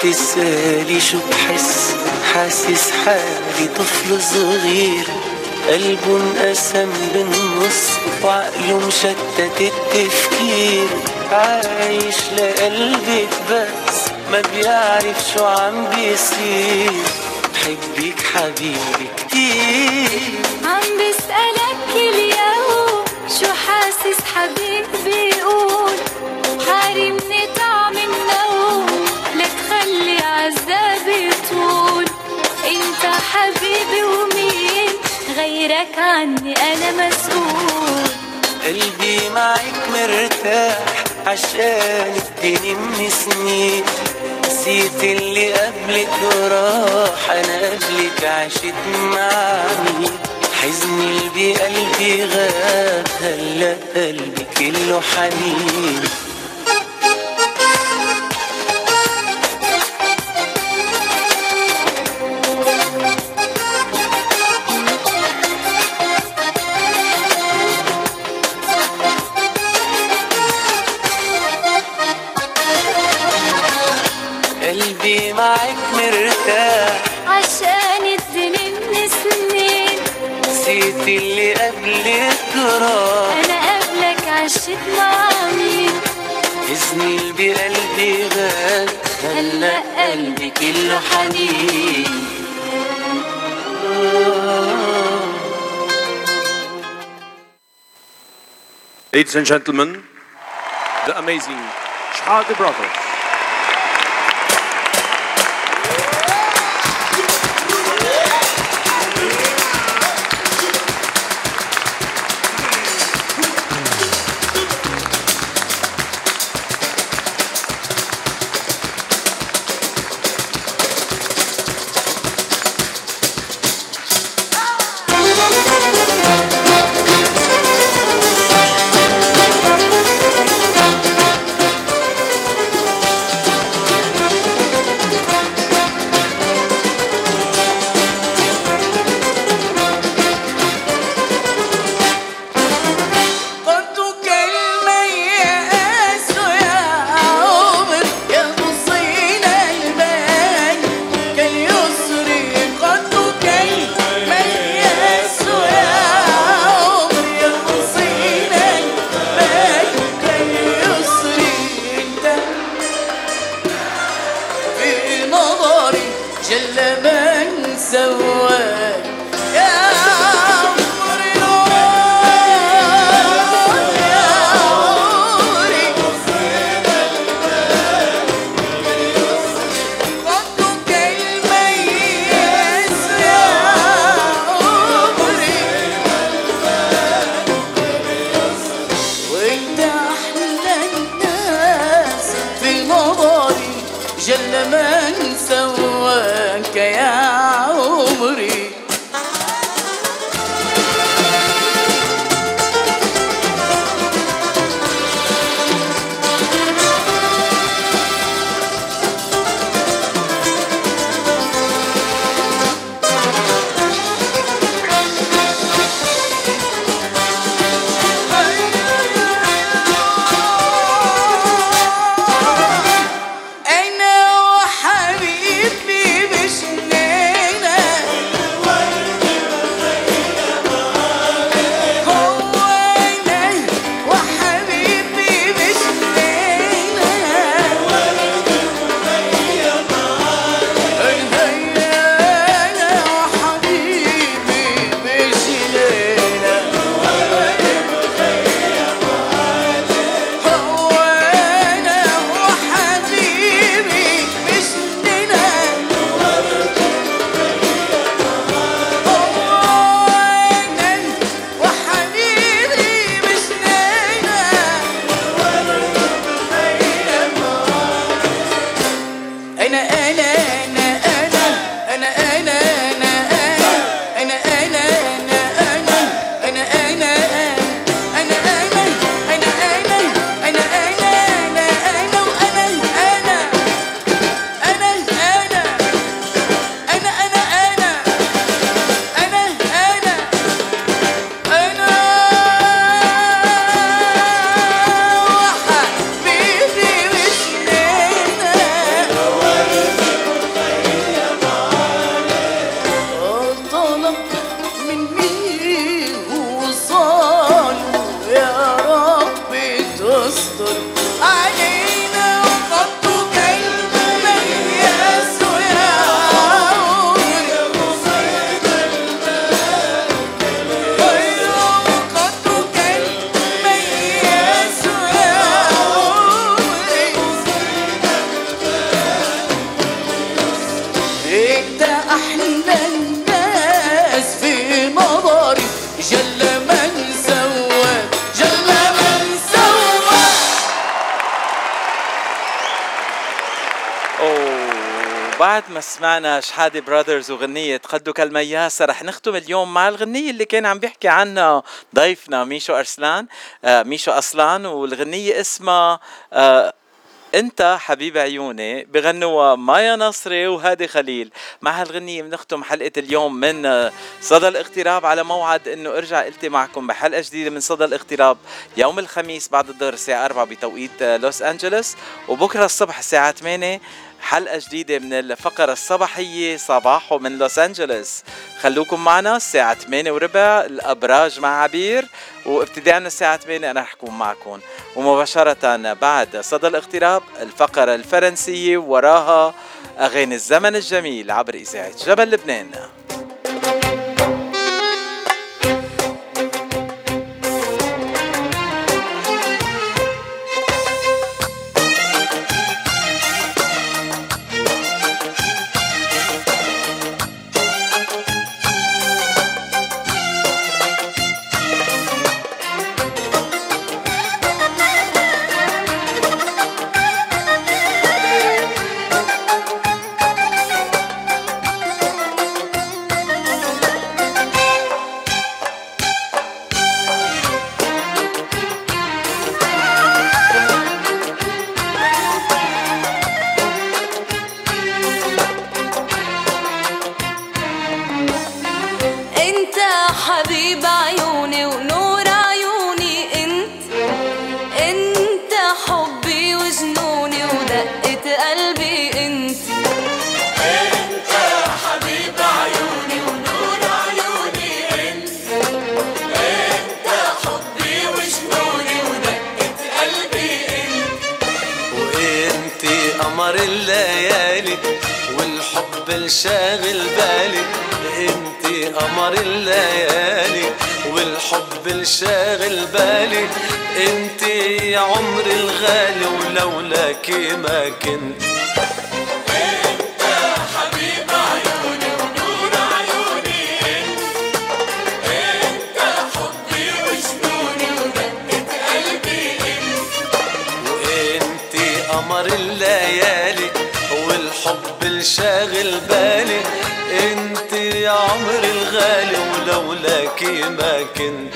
تسألي شو بحس حاسس حالي طفل صغير قلبه انقسم بالنص وعقله مشتت التفكير عايش لقلبك بس ما بيعرف شو عم بيصير بحبك حبيبي كتير عم بسألك كل يوم شو حاسس حبيبي بيقول حارمني طعم النوم لتخلي عذابي طول انت حبيبي ومين غيرك عني انا مسؤول قلبي معك مرتاح عشان اديني من سنين نسيت اللي قبلك وراح انا قبلك عشت معي حزني اللي بقلبي غاب هلا قلبي كله حنين قلبي معك مرتاح عشان اديني من سنين نسيت اللي قبلك راح انا قبلك عشت مع مين حزني اللي بقلبي غاب هلا قلبي كله حنين Ladies and gentlemen, the amazing Shahada Brothers. جل من سواك يا عمري انت احلى الناس في نظري جل من سواك جل من سواك. أوه، بعد ما سمعنا شحادة براذرز وغنية قدك المياسة، رح نختم اليوم مع الغنية اللي كان عم بيحكي عنها ضيفنا ميشو أرسلان آه ميشو أصلان، والغنية اسمها آه انت حبيب عيوني، بغنوا مايا نصري وهادي خليل. مع هالغنية بنختم حلقة اليوم من صدى الاغتراب، على موعد انه ارجع التقي معكم بحلقة جديدة من صدى الاغتراب يوم الخميس بعد الظهر الساعة أربعة بتوقيت لوس أنجلوس، وبكرة الصبح الساعة ثمانية حلقة جديدة من الفقرة الصباحية صباحو من لوس أنجلوس. خلوكم معنا الساعة ثمانية وربع الأبراج مع عبير، وابتداء من الساعة ثمانية أنا رح أكون معكم، ومباشرة بعد صدى الاغتراب الفقرة الفرنسية وراها أغاني الزمن الجميل عبر إذاعة جبل لبنان. شاغل بالي انتي قمر الليالي والحب الشاغل بالي انتي يا عمري الغالي ولولاكي ما كنت. انت حبيب عيوني ونور عيوني انت انت حبي وجنوني ودقة قلبي انت وانتي قمر الليالي والحب الشاغل بالي انت يا عمري الغالي ولولاكي ما كنت.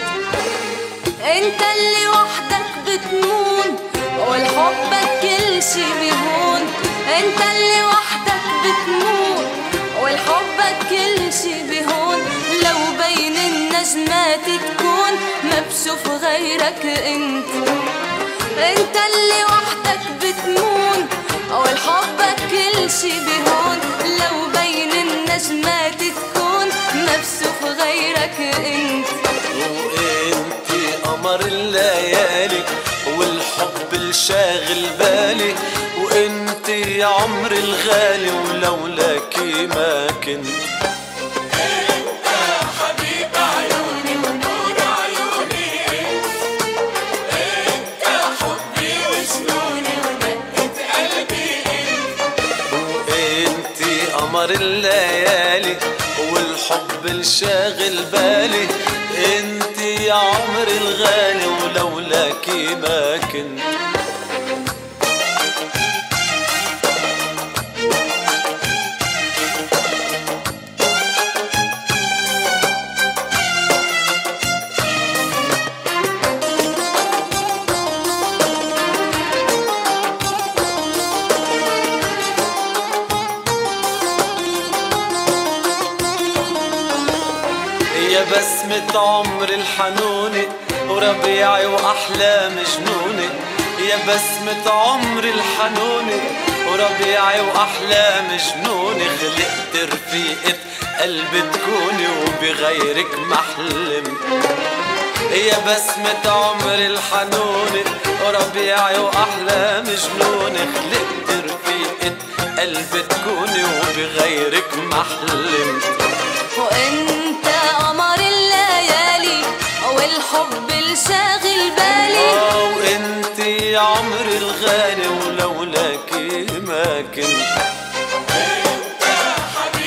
انت اللي وحدك بتمون والحبك كل شي بيهون، انت اللي وحدك بتمون والحبك كل شي بيهون، لو بين النجمات تكون ما بشوف غيرك انت. انت اللي وحدك بتمون والحبك كل شي بيهون، لو بين النجمات تكون ما بشوف غيرك انت. وانتي قمر الليالي والحب الشاغل بالي وانتي يا عمري الغالي ولولاكي ما كنت. انت حبيب عيوني ونور عيوني انت انت حبي وجنوني ودقة قلبي انت وانتي قمر الليالي والحب الشاغل بالي انتي يا عمري الغالي ولولاكي ما كنت. يا بسمة عمر الحنوني وربيعي وأحلام جنوني، يا بسمة عمر الحنوني وربيعي وأحلام جنوني، خلقت رفيقة قلبي تكوني وبغيرك محلم. يا بسمة عمر الحنوني وربيعي وأحلام جنوني، خلقت رفيقة قلبي تكوني وبغيرك محلم. وانت قمر الليالي والحب الشاغل بالي وانت يا عمري الغالي ولولاكي ما كنت. انت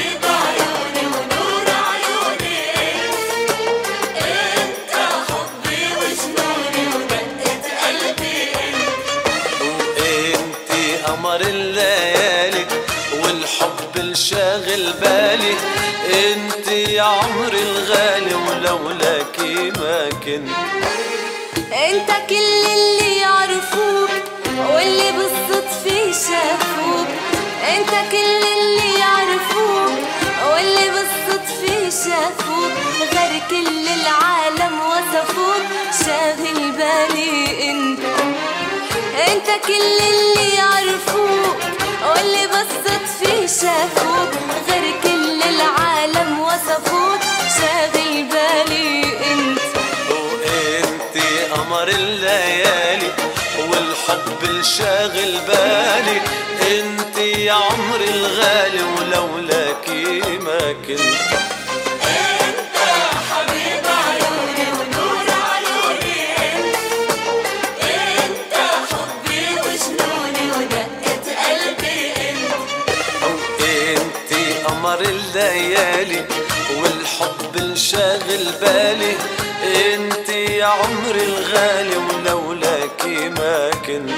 شاغل بالي انت يا عمري الغالي ولولاكي ما كنت. انت كل اللي يعرفوك واللي بالصدفة شافوك، انت كل اللي يعرفوك واللي بالصدفة شافوك، غير كل العالم وصفوك شاغل بالي انت. انت كل اللي يعرفوك واللي بالصدفة شافوك، غير كل العالم وصفوك شاغل بالي انت. وانتي قمر الليالي والحب الشاغل بالي انتي يا عمري الغالي ولولاكي ما كنت. انت حبيب عيوني ونور عيوني انت، انت حبي وجنوني ودقة قلبي انت. وانتي قمر الليالي والحب الشاغل بالي انتي يا عمري الغالي ولولاكي ما كنت.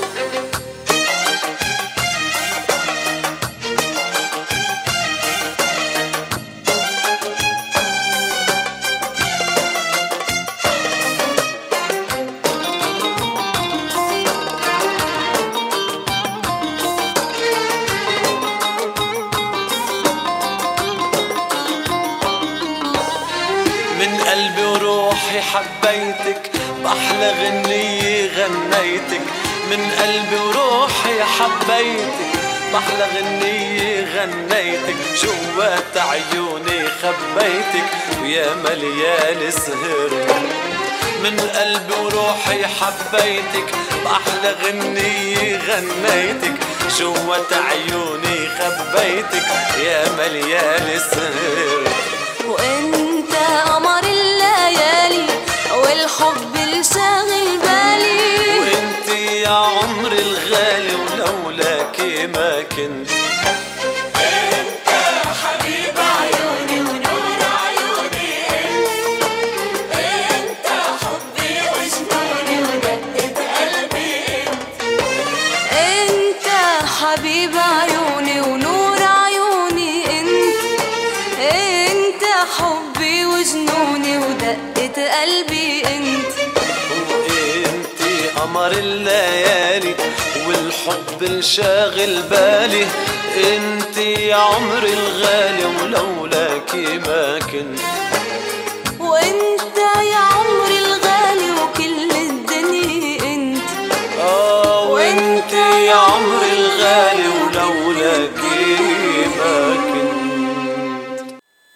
من قلبي وروحي حبيتك بأحلى غنية غنيتك، من قلبي وروحي حبيتك بأحلى غنية غنيتك، جوات عيوني خبيتك ويا مليان سهر. من قلبي وروحي حبيتك بأحلى غنية غنيتك، جوات عيوني خبيتك يا مليان سهر. وانت قمر الليالي والحب الشاغل بالي، وانت يا عمري الغالي ولولاكي ما كنت. انت حبيب عيوني ونور عيوني انت، انت حبي وجنوني ودقة قلبي انت. انت حبيب عيوني ونور عيوني انت، انت حبي وجنوني ودقة قلبي انت. وانتي قمر الليالي والحب الشاغل بالي انتي يا عمري الغالي ولولاكي ما كنت.